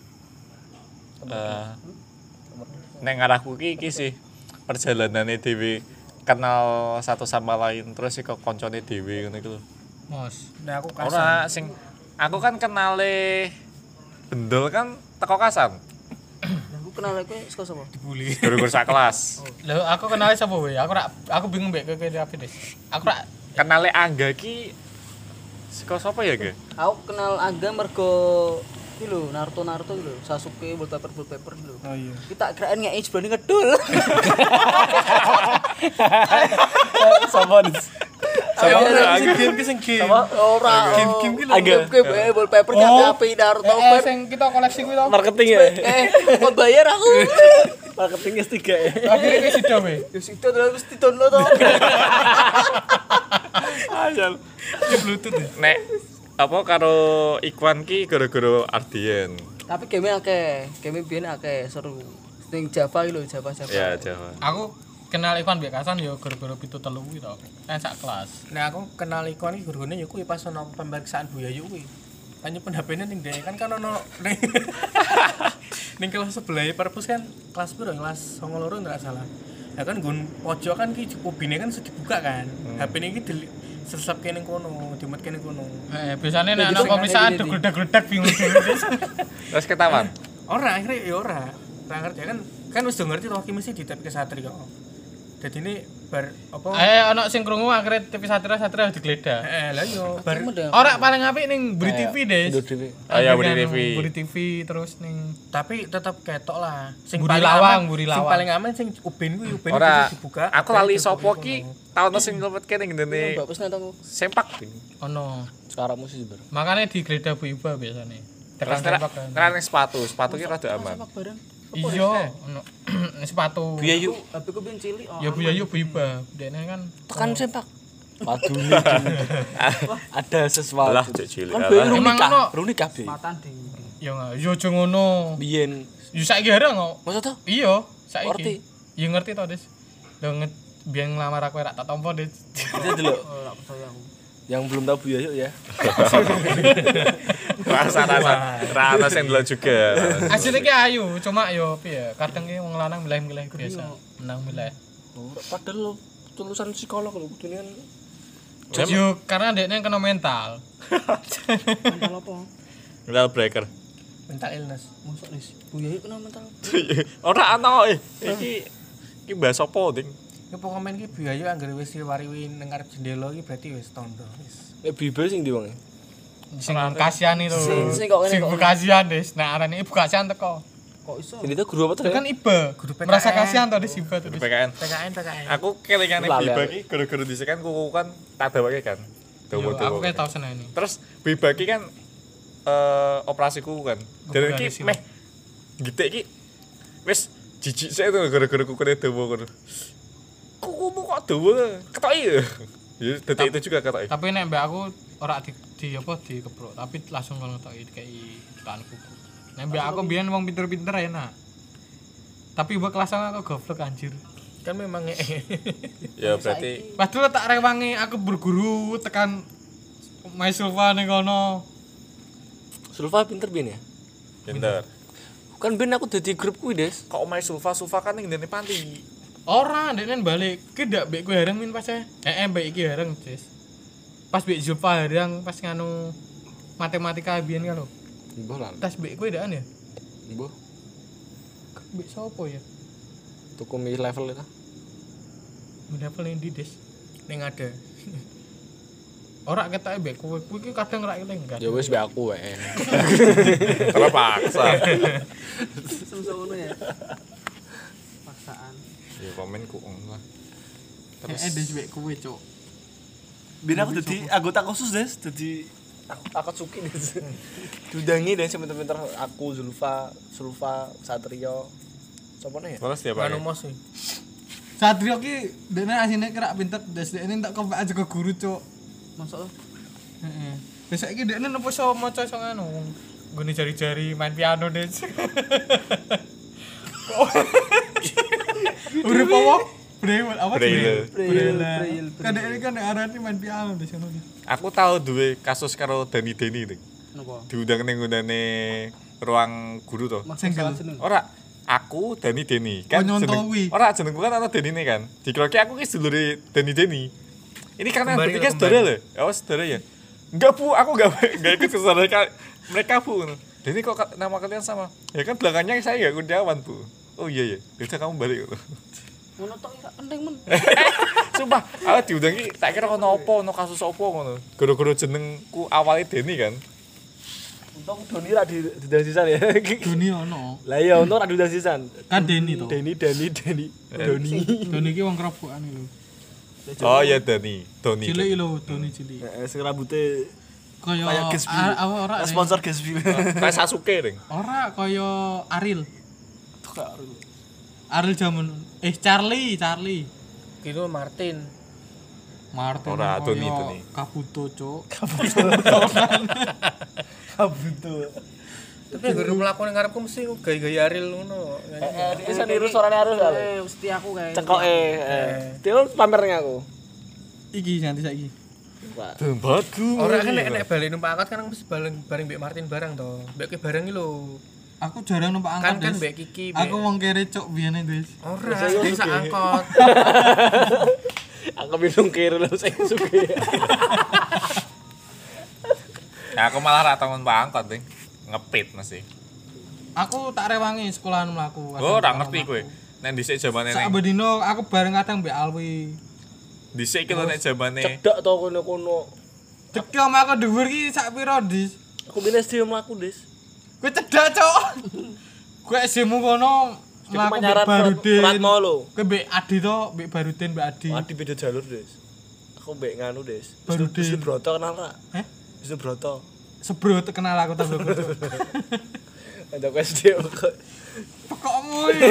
eh nek ngarahku ki iki sih perjalanane dhewe kenal satu sama lain terus iku koncone dhewe ngono iku lho. Mos. Nah aku kasan. Ora sing aku kan kenale Bendol kan teko Kasan. Aku kenal kowe saka sapa? Dibully. Guru-guru sak kelas. Lho aku kenal sapa we? Aku rak aku bingung mbek kowe apa Des. Aku rak Kenale Angga ki saka sapa ya, Ge? Aku kenal Angga mergo iki lho, Naruto Naruto iki lho, Sasuke wallpaper wallpaper lho. Oh iya. Kita kirain ngeki jebane ngedul. sama Sama Angga. sing game ki sing game. sama Ora. Game-game ki lho. Angga. Game wallpaper api-api Naruto. Eh, eh sing kita koleksi kuwi to. marketing ya. Eh, kok bayar aku? Marketing S tiga ya. Akhire kowe sida we. Ya situ terus mesti download to. Ajal. Iki Bluetooth ya. Nek apa karo Ikwan ki gara-gara Ardian. Tapi game akeh, game biyen akeh seru. Sing Java iki lho, Java Java. Ya, Jawa. Aku kenal Ivan mbek Kasan ya gara-gara pitu telu kuwi to. Kan sak kelas. Nah aku kenal ikon iki gurune ya kuwi pas ono pemeriksaan Bu Yayu kuwi. Kan nyimpen H P-ne ning dhek kan kan ono ning ning kelas sebelah perpus kan kelas piro kelas songo loro ndak salah. Ya kan nggon pojok kan ki ubine kan sudah dibuka kan. H P-ne iki sesep kene kono, dimet kene kono. Eh, biasanya nek Jadi ana sing pemeriksaan ada di- degledak-gledak bingung dulu. Terus ketahuan. Ora akhirnya ya ora. Ora ngerti kan kan wis do ngerti to iki mesti di T V Kesatria kok. Dadi ini bar apa Eh ana sing krungu akhire T V Satria Satria digledah. eh lah yo bar Ora paling apik ning Buri T V, Des. Oh ya, Buri T V. Buri T V terus ning tapi tetep ketok lah. Sing Buri paling Lawang, aman- Buri Sing Lawang. paling aman sing ubin kuwi ubin Ora, itu dibuka. aku lali sopo ki tahun sing ngelebet kene ngene Bagus nek aku. sempak. ono. Sekarang musik ber. Makanya digledah Bu Iba biasanya. Tekan Terus sempak kan. kan sepatu, sepatu ki rada aman. Sepak bareng. Iya, ono sepatu. Bu Yayu. H P ku biyen cilik. oh, Ya Bu Yayu Bu Iba. Dene kan Tekan sempak. Waduh nih. Ada sesuatu. Lah cek cilik. Kan alah. bayi Emang nikah, ono? baru nikah be. Matan ding. ya enggak, yo aja ngono. Biyen. Yo saiki areng kok. Masa tuh? Iya, Ngerti? saiki. Ya ngerti to, Des. Lho nget biyen nglamar aku rak tak tampa, Des. Itu dulu. Ora percaya aku. Yang belum tahu Bu Yayu ya. Rasa-rasa rasa sing delok juga. Asline ki ayu, cuma yo piye, kadang ki wong lanang milih-milih biasa. Menang milih. Oh, padahal lo lulusan psikolog lho kudune kan. Yo karena dekne kena mental. Mental apa? Mental breaker. mental illness. Mosok wis. Bu Yayu kena mental. Ora ana eh. Iki iki bahas apa, Ding? Ki pokoknya ki biaya anggere wis diwari ning ngarep jendela ki berarti wis tondo wis. Eh Biba sing ndi wong? Sing kasihani lho. Sing- sing kok ngene Sing kok. kasihan, Des. Nah, arane ibu kasihan teko. Kok iso? Ini tuh guru apa tuh? Itu kan Iba. Guru P K N. Merasa kasihan to Des Iba tuh. P Des. K N. P K N P K N. Aku kelingane Lali, Biba lali. ki gara-gara dhisik kan kuku kan tak dawake kan. Yo, aku Dawa-dawa. kayak tau seneni. Terus Biba ki kan eh operasi kuku kan. Dan Kuku iki dari meh gitik ki wis jijik sik tuh gara-gara kukune dawa ngono. Kukumu kok dawa? Ketoki ya. Ya detik itu juga ketoki. Tapi nek mbak aku ora di, di apa dikeprok, tapi langsung ngono tok kayak tekan kuku. Nek mbak aku biyen wong pinter-pinter enak. Tapi mbak kelas aku goblok anjir. Kan memang ngee. Ya berarti Padahal tak rewangi aku berguru tekan Mas Sulfa ning kono. Sulfa pinter bin ya? pinter. Kan ben aku dadi grup kuwi, Des. Kok omahe Sulfa Sulfa kan ning ndene panti. Ora, ndekne balik. Ki ndak mbek kowe hareng min pas e. Eh, mbek iki hareng, Cis. Pas mbek Zulfa hareng pas nganu matematika biyen kan lho. Mbah lah. Tas mbek kowe ndak ya? Mbah. Mbek sapa ya? Tuku mi level itu. Level ning ndi, Des? Ning ada. Ora ketoke mbek kowe. Kowe iki kadang ra eling kan. Ya wis mbek aku wae. Terpaksa. Semso ngono ya. Paksaan. Ya komen ku lah. Terus eh Des mbek kowe, Cuk. Ben aku dadi anggota khusus, Des. Dadi aku akad suki, Des. Diundangi Des pinter-pinter aku Zulfa, Sulfa, Satrio. Sopone ya? Terus tiap hari. Anu mos iki. Satrio ki dene asine kira pinter, Des dene tak kok aja ke guru, Cuk. Masuk. Heeh. Besok iki dene nopo iso maca iso ngono. Nggone jari-jari main piano, Des. Urip apa? Braille apa? Braille. Braille. Kan ini kan arane main piano di sana. Aku tahu duwe kasus karo Dani Deni ning. Napa? Diundang ning nggone ruang guru to. Single. Ora, aku Dani Deni kan Oh, nyontowi. Ora jenengku kan ana Denine kan. Dikroke aku ki sedulure Dani Deni. Ini karena Kembali bertiga ke saudara lho. Ya wis saudara ya. Enggak Bu, aku enggak enggak ikut ke saudara mereka Bu. Deni kok ka- nama kalian sama? Ya kan belakangnya saya enggak Kurniawan Bu. Oh iya ya. Udah kamu balik. Ngono tok ya penting men. Sumpah, aku diundang ki tak kira ono apa, ono kasus apa ngono. Gara-gara jenengku awalnya Deni kan. Untung Doni ra di diundang sisan ya. Doni ono. Lah iya untung ra diundang sisan. Kan Deni to. Deni, Deni, Deni, Doni. Doni iki wong kerobokan iki lho. Oh iya Deni, Doni. Cilik lho, Doni cilik. Heeh, sing rambute Kaya kayak Gatsby. a- apa ora? Ning? sponsor Gatsby. Kayak Sasuke ning. Ora kaya Aril. Tuh kak. Aril jaman eh Charlie, Charlie. Kilo Martin. Martin Ora, kaya Doni, Doni. Kabuto, Cuk. Kabuto. Tapi guru mlaku ning ngarepku mesti gaya-gaya Ariel ngono. Eh, iso niru suarane Arus kali. Eh, mesti aku kae. Cengkoke. eh. Dia pamer ning aku. Iki nanti saiki. Tempatku. Ora kan nek nek bali numpak angkot kan mesti bareng bareng Mbak Martin bareng to. Mbak ki bareng iki lho. Aku jarang numpak Kan angkot. kan Des. Mbak Kiki. Aku wong kere Cuk biyen Des. Ora, desa angkot. Aku bingung kira lho sing suge. Ya aku malah ra tau numpak angkot ning. Ngepit mesti. Aku tak rewangi sekolahan mlaku. Oh, ora ngerti kowe. Nek dhisik jamane Sak ning bedino aku bareng kadang Mbak Alwi. dhisik ki lho nek jamane Cedok to kono-kono. Cek om aku dhuwur ki sak piro, Dis? Aku bines dia mlaku, Des. Kowe cedak, Cuk. Kowe S D-mu kono mlaku Mbak Manyarat Barudin. Ratmo lho. Kowe Mbak Adi to, Mbak Barudin, Mbak Adi. Adi beda jalur, Des. Aku mbek nganu, Des. Barudin. Wisnu Broto kenal ra? Heh? Wisnu Broto. Sebro kenal aku to, Bro. Ada ku S D kok. Pokokmu iki.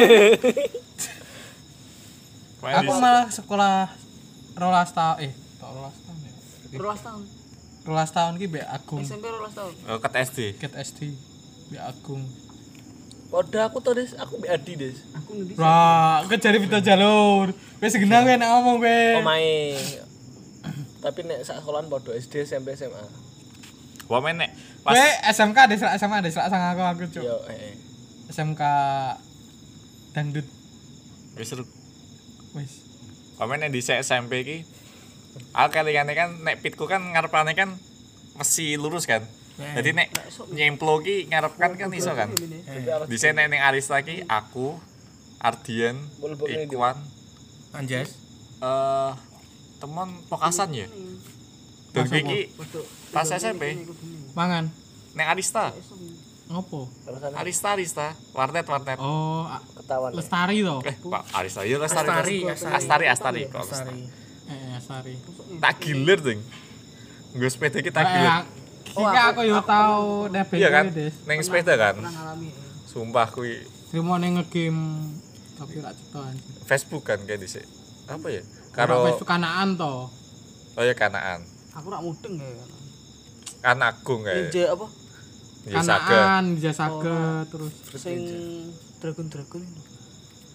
Aku malah sekolah rolas tahun eh, tok rolas tahun ya. Rolas tahun. Rolas tahun ki Mbak Agung. S M P rolas tahun. Oh, ket S D. Ket S D. Mbak Agung. Padha aku to, Des. Aku mbek Adi, Des. Aku ngendi? Wah, kowe jare beda jalur. Wis genang kowe nek ngomong kowe. Omae. Tapi nek sak sekolahan padha S D, S M P, S M A. Wah men nek Kowe pas S M K desa S M A desa sang aku aku cuk. Yo, heeh. S M K dangdut wis seru. wis. Wah men nek dhisik S M P ki aku kalingane kan nek pitku kan ngarepane kan mesti lurus kan. Jadi nek nyemplo ki ngarep kan kan iso kan. Dhisik nek ning Arista ki aku Ardian, Ikwan, Anjas. eh teman Pokasan ya. Dan gue ki pas S M P Mangan. ning Arista. Ngopo? Arista Arista, warnet warnet. Oh, a- Ketahuan. Lestari to. Eh, Pak Arista ya Lestari. Astari, Astari, Astari, kok Astari. Eh, Lestari. tak gilir ding. Nggo sepeda ki tak Eh, gilir. Iki aku yo tau nebeng Iya kan? kowe, Des. Ning sepeda kan. Pernah ngalami. Sumpah kuwi Trimo ning ngegame tapi ra cetha anjir. Facebook kan kayak dhisik. Apa ya? Karo Karo Facebook kanaan to. oh ya kanaan. Aku rak mudeng ya. Kan Agung kayak. Ninja apa? Ya saga. Kanaan, Jasaga terus Sing dragon-dragon itu.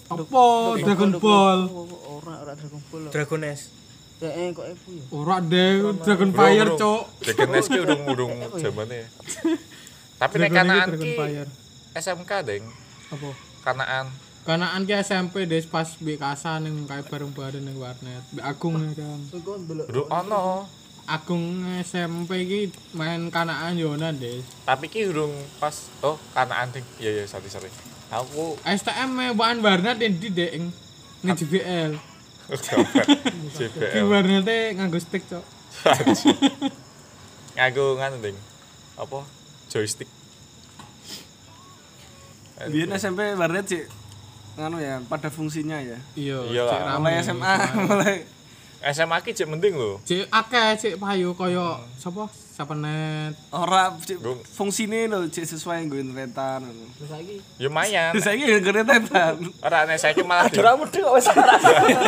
Apa Dragon Ball? Ora ora Dragon Ball. Dragon S. Ya eh kok ibu ya. Ora deh, Dragon Fire, Cuk. Dragon Nest ki urung-urung zamane. Tapi nek Dragon iki kanaan Dragon ki Fire. S M K deng, Apa? kanaan. Kanaan ki S M P des pas mbek Kasa ning kae bareng-bareng ning warnet. Mbek Agung nih kan. Kok ndelok. Bro ono, Agung S M P ki main kanaan yonan des. tapi ki urung pas oh kanaan ding. Iya iya sorry sorry. Aku S T M e bahan warnet di dek ing ning J B L. J B Ki L. warnete nganggo stick, Cuk. Ngaku nganu ding. Apa? Joystick. Biar S M P warnet sih nganu ya pada fungsinya ya. Iya, Iya cek lah. rame. Mulai S M A mulai S M A ki cek mending lho. Cek akeh cek payu kaya sapa? Sapenet. ora cik, Gung. fungsine lho cik sesuai nggo internetan. Terus saiki Ya lumayan. Saiki nggo internetan. Ora nek saiki malah di- Ora mudhe kok wis ora.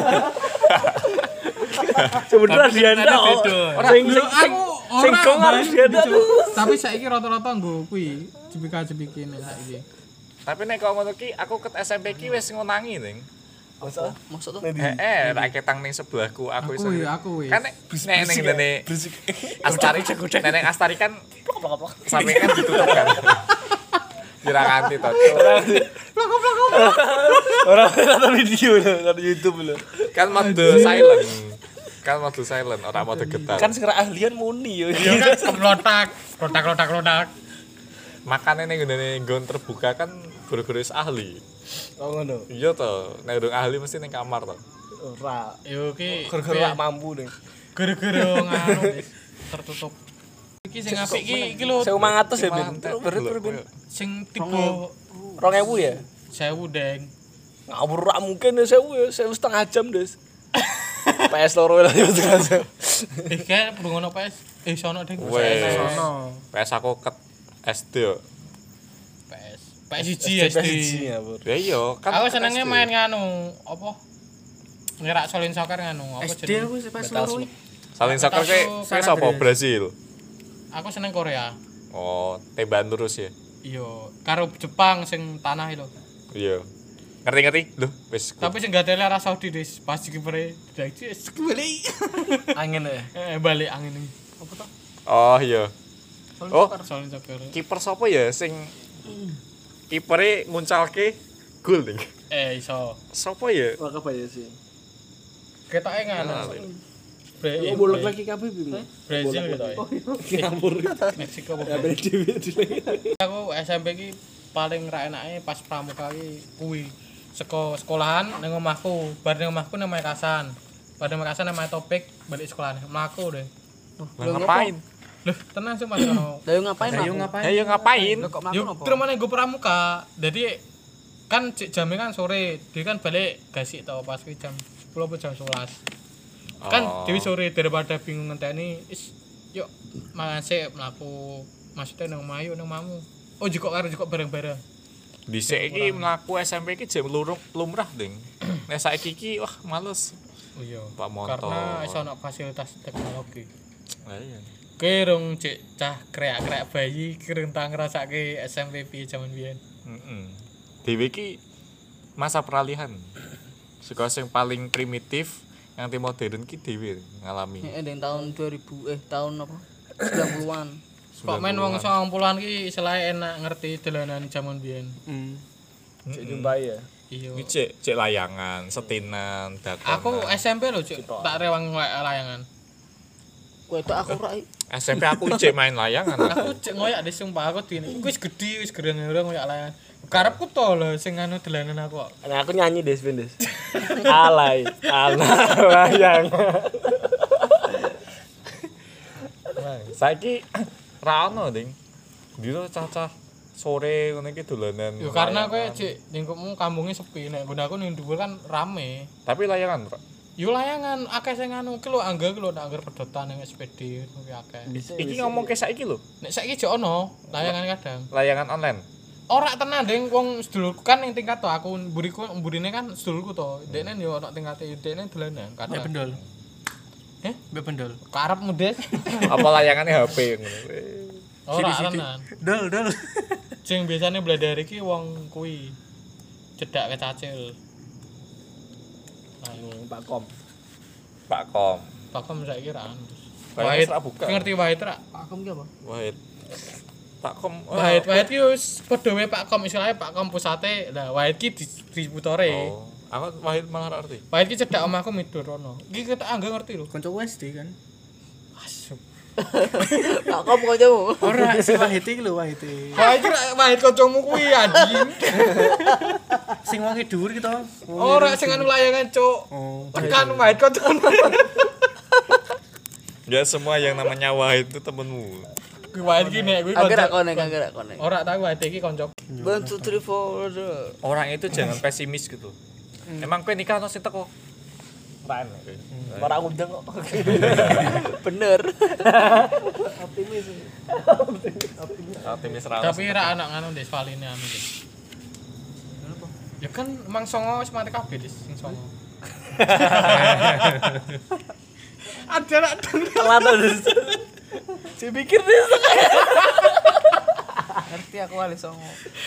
Sebenarnya dianda kok. Sing sing sing sing kong harus dianda tuh. Tapi saiki rata-rata nggo kuwi jebika-jebiki nek saiki. Tapi nek kok ngono ki aku ket S M P ki wis ngonangi ning. Masa maksud tuh Eh, rak ketang ning sebelahku aku Aku iso. ya, aku wis. Kan nek nek ning ngene Astari nek Astari kan sampe kan ditutup kan. Kira nganti to. ora nonton video lho, nonton YouTube lho. Kan mode silent. Kan mode silent, ora mode getar. Kan sekarang ahlian muni yo. Ya kan kelotak, klotak-klotak klotak. Makane ning ngene nggon terbuka kan guru-guru wis ahli. Oh ngono. Iya to, nek urung ahli mesti ning kamar to. Ora. Yo ki Gara-gara gak mampu nih. gara-gara nganu wis tertutup. Iki sing apik ki iki lho seribu lima ratus ya, Ben. Mantek. Berat berat Ben. sing tipe dua ribu ya? sewu deng. Ngawur ra mungkin ya sewu ya, sewu setengah jam, Des. P S loro lah ya setengah jam. Eh kan perlu ngono P S. Eh sono deng. Wes. Sono. P S aku ket S D yo. P S. P S siji S D. ya, Bur. Ya iya, kan Aku ket senenge S D. main nganu apa? Ngerak solin soccer nganu apa S D jenenge? aku pas loro. Saling soccer Aku ke San ke sapa Andreas. Brasil. Aku seneng Korea. Oh, tembakan terus ya. Iya, karo Jepang sing tanah itu. Iya. Ngerti-ngerti? Loh, wis. Tapi sing gatele arah Saudi dis, pas kipere dadi balik. Angin ya. Eh balik angin ini. Apa toh? Oh iya. Oh, Solin soccer. kiper sapa ya sing kipere nguncalke gol ning. Eh iso. Sapa ya? Wah, ya sih. Ketoke nganu. Bre- Oh, bolak lagi kabeh bim. Brazil ketoke. Ngawur. Meksiko apa? Ya ben dhewe. Aku S M P ki paling ra enake pas pramuka ki kuwi. Seko sekolahan ning omahku, bar ning omahku nang Mekasan. Bar ning Mekasan nang Topik balik sekolahan. Mlaku deh. Lah ngapain? Loh, tenang sih Mas ono. Lah yo ngapain Ayo aku? ngapain? Ya ya ngapain? Lah kok makan Yo apa? terus mana gue pramuka. Jadi kan cik jamnya kan sore, dia kan balik gasik tau pas kuwi jam sepuluh apa jam sebelas. Kan Oh. dewi sore daripada bingung ngenteni is yuk mangan sik mlaku maksudnya nang mayu nang mamu. Oh jukok karo jukok bareng-bareng. Dhisik iki mlaku S M P iki jam lurung lumrah ding. Nek saiki iki wah males. Oh iya. Pak motor. Karena iso ana fasilitas teknologi. Lah iya. Kerung cek cah kreak-kreak bayi kereng tak ngrasake S M P piye jaman biyen. Heeh. Dhewe iki masa peralihan. Saka sing paling primitif nganti modern ki dhewe ngalami. Heeh, ning tahun dua ribu eh tahun apa? sembilan puluhan. Kok main wong sembilan puluhan ki istilahnya enak ngerti dolanan jaman biyen. Hmm. Cek jumpai ya. Iya. Iki cek cek layangan, setinan, dakonan. Aku S M P lho, Cuk. Tak rewang ngoyak layangan. Kowe tok aku ra S M P aku cek main layangan. Aku cek ngoyak di sumpah aku dene. Iku wis gedhi, wis gereng-gereng ngoyak layangan. Karepku to lho sing anu dolanan aku kok. Nah, aku nyanyi Des Ben Des. Alay, anak layang. Saiki ra ono ding. Dino cacah sore ngene iki dolanan. Yo karena kowe layangan. cek lingkupmu kampungnya sepi nek nggon aku ning dhuwur kan rame. Tapi layangan, Pak. Yo layangan akeh sing anu ki lho angga ki lho nek anggar pedotan ning S P D kuwi akeh. Iki ngomong ke saiki lho, Nek saiki jek ono layangan kadang. layangan online. Ora tenan ding wong sedulurku kan ning tingkat to aku mburiku mburine kan sedulurku to. Dekne yo ono tingkate dekne dolanan Mbak kadang. Bendol. Eh? Mbak Bendol. Karepmu Des. Apa layangannya H P ngono. Ora tenan. Dol, dol. Sing biasane bladar iki wong kuwi cedak kecacil. anu Pak Kom. Pak Kom. Pak Kom saiki ra anu. Kayaknya Wahid serak buka. ngerti Wahid ra? Pak Kom ki apa? Wahid. Pak Kom. oh, Wahid Wahid ki wis padha wae Pak Kom istilahnya Pak Kom pusate. Lah Wahid ki distributore. Oh, aku Wahid malah ra ngerti. Wahid ki cedhak omahku midur rono. Iki ketok angga ngerti lho. Kanca U S D kan. Asyuk. Pak Kom kancamu. Ora si Wahid iki lho Wahid. Wahid ki Wahid kancamu kuwi anjing. Sing wonge dhuwur ki to. Ora sing anu layangan, Cuk. Oh. Tekan Wahid kancamu. Ya semua yang namanya Wahid itu temenmu. Kuwi Wahid ki nek kuwi Angger kanca. konek, angger konek. Ora tahu Wahid iki kanca. one two three four. Orang itu jangan pesimis gitu. Emang kowe nikah ono sing teko? Ran. Ora undang kok. Bener. Optimis ra. Tapi ra anak nganu Des valine anu Des. Ya kan emang songo wis mati kabeh Des sing songo. Ada nak Telat terus. Si pikir dia Ngerti aku wali songo.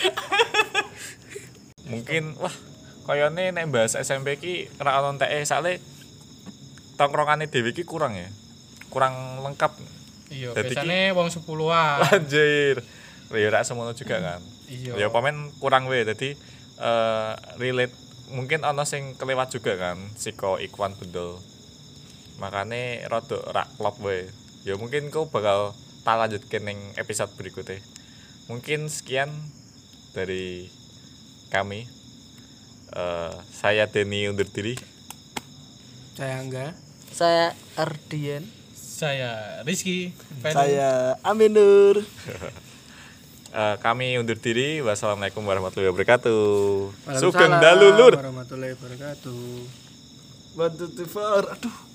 Mungkin wah kayane nek bahas S M P ki ra ono entek sale tongkrongane dhewe ki kurang ya. Kurang lengkap. Iya, Dadi biasane wong sepuluhan. Anjir. Ya ra semono juga kan. Iya. Ya pamen kurang wae dadi eh relate mungkin ono sing kelewat juga kan siko Ikwan Bendol. Makane rada rak klop wae. Ya mungkin kau bakal tak lanjutke ning episode berikutnya. Mungkin sekian dari kami. Eh saya Denny undur diri. Saya Angga. Saya Ardian. Saya Rizky. Saya Aminur. Eh, kami undur diri. Wassalamualaikum warahmatullahi wabarakatuh. Waalaikumsalam Sugeng dalu lur. warahmatullahi wabarakatuh. One two three four. Aduh.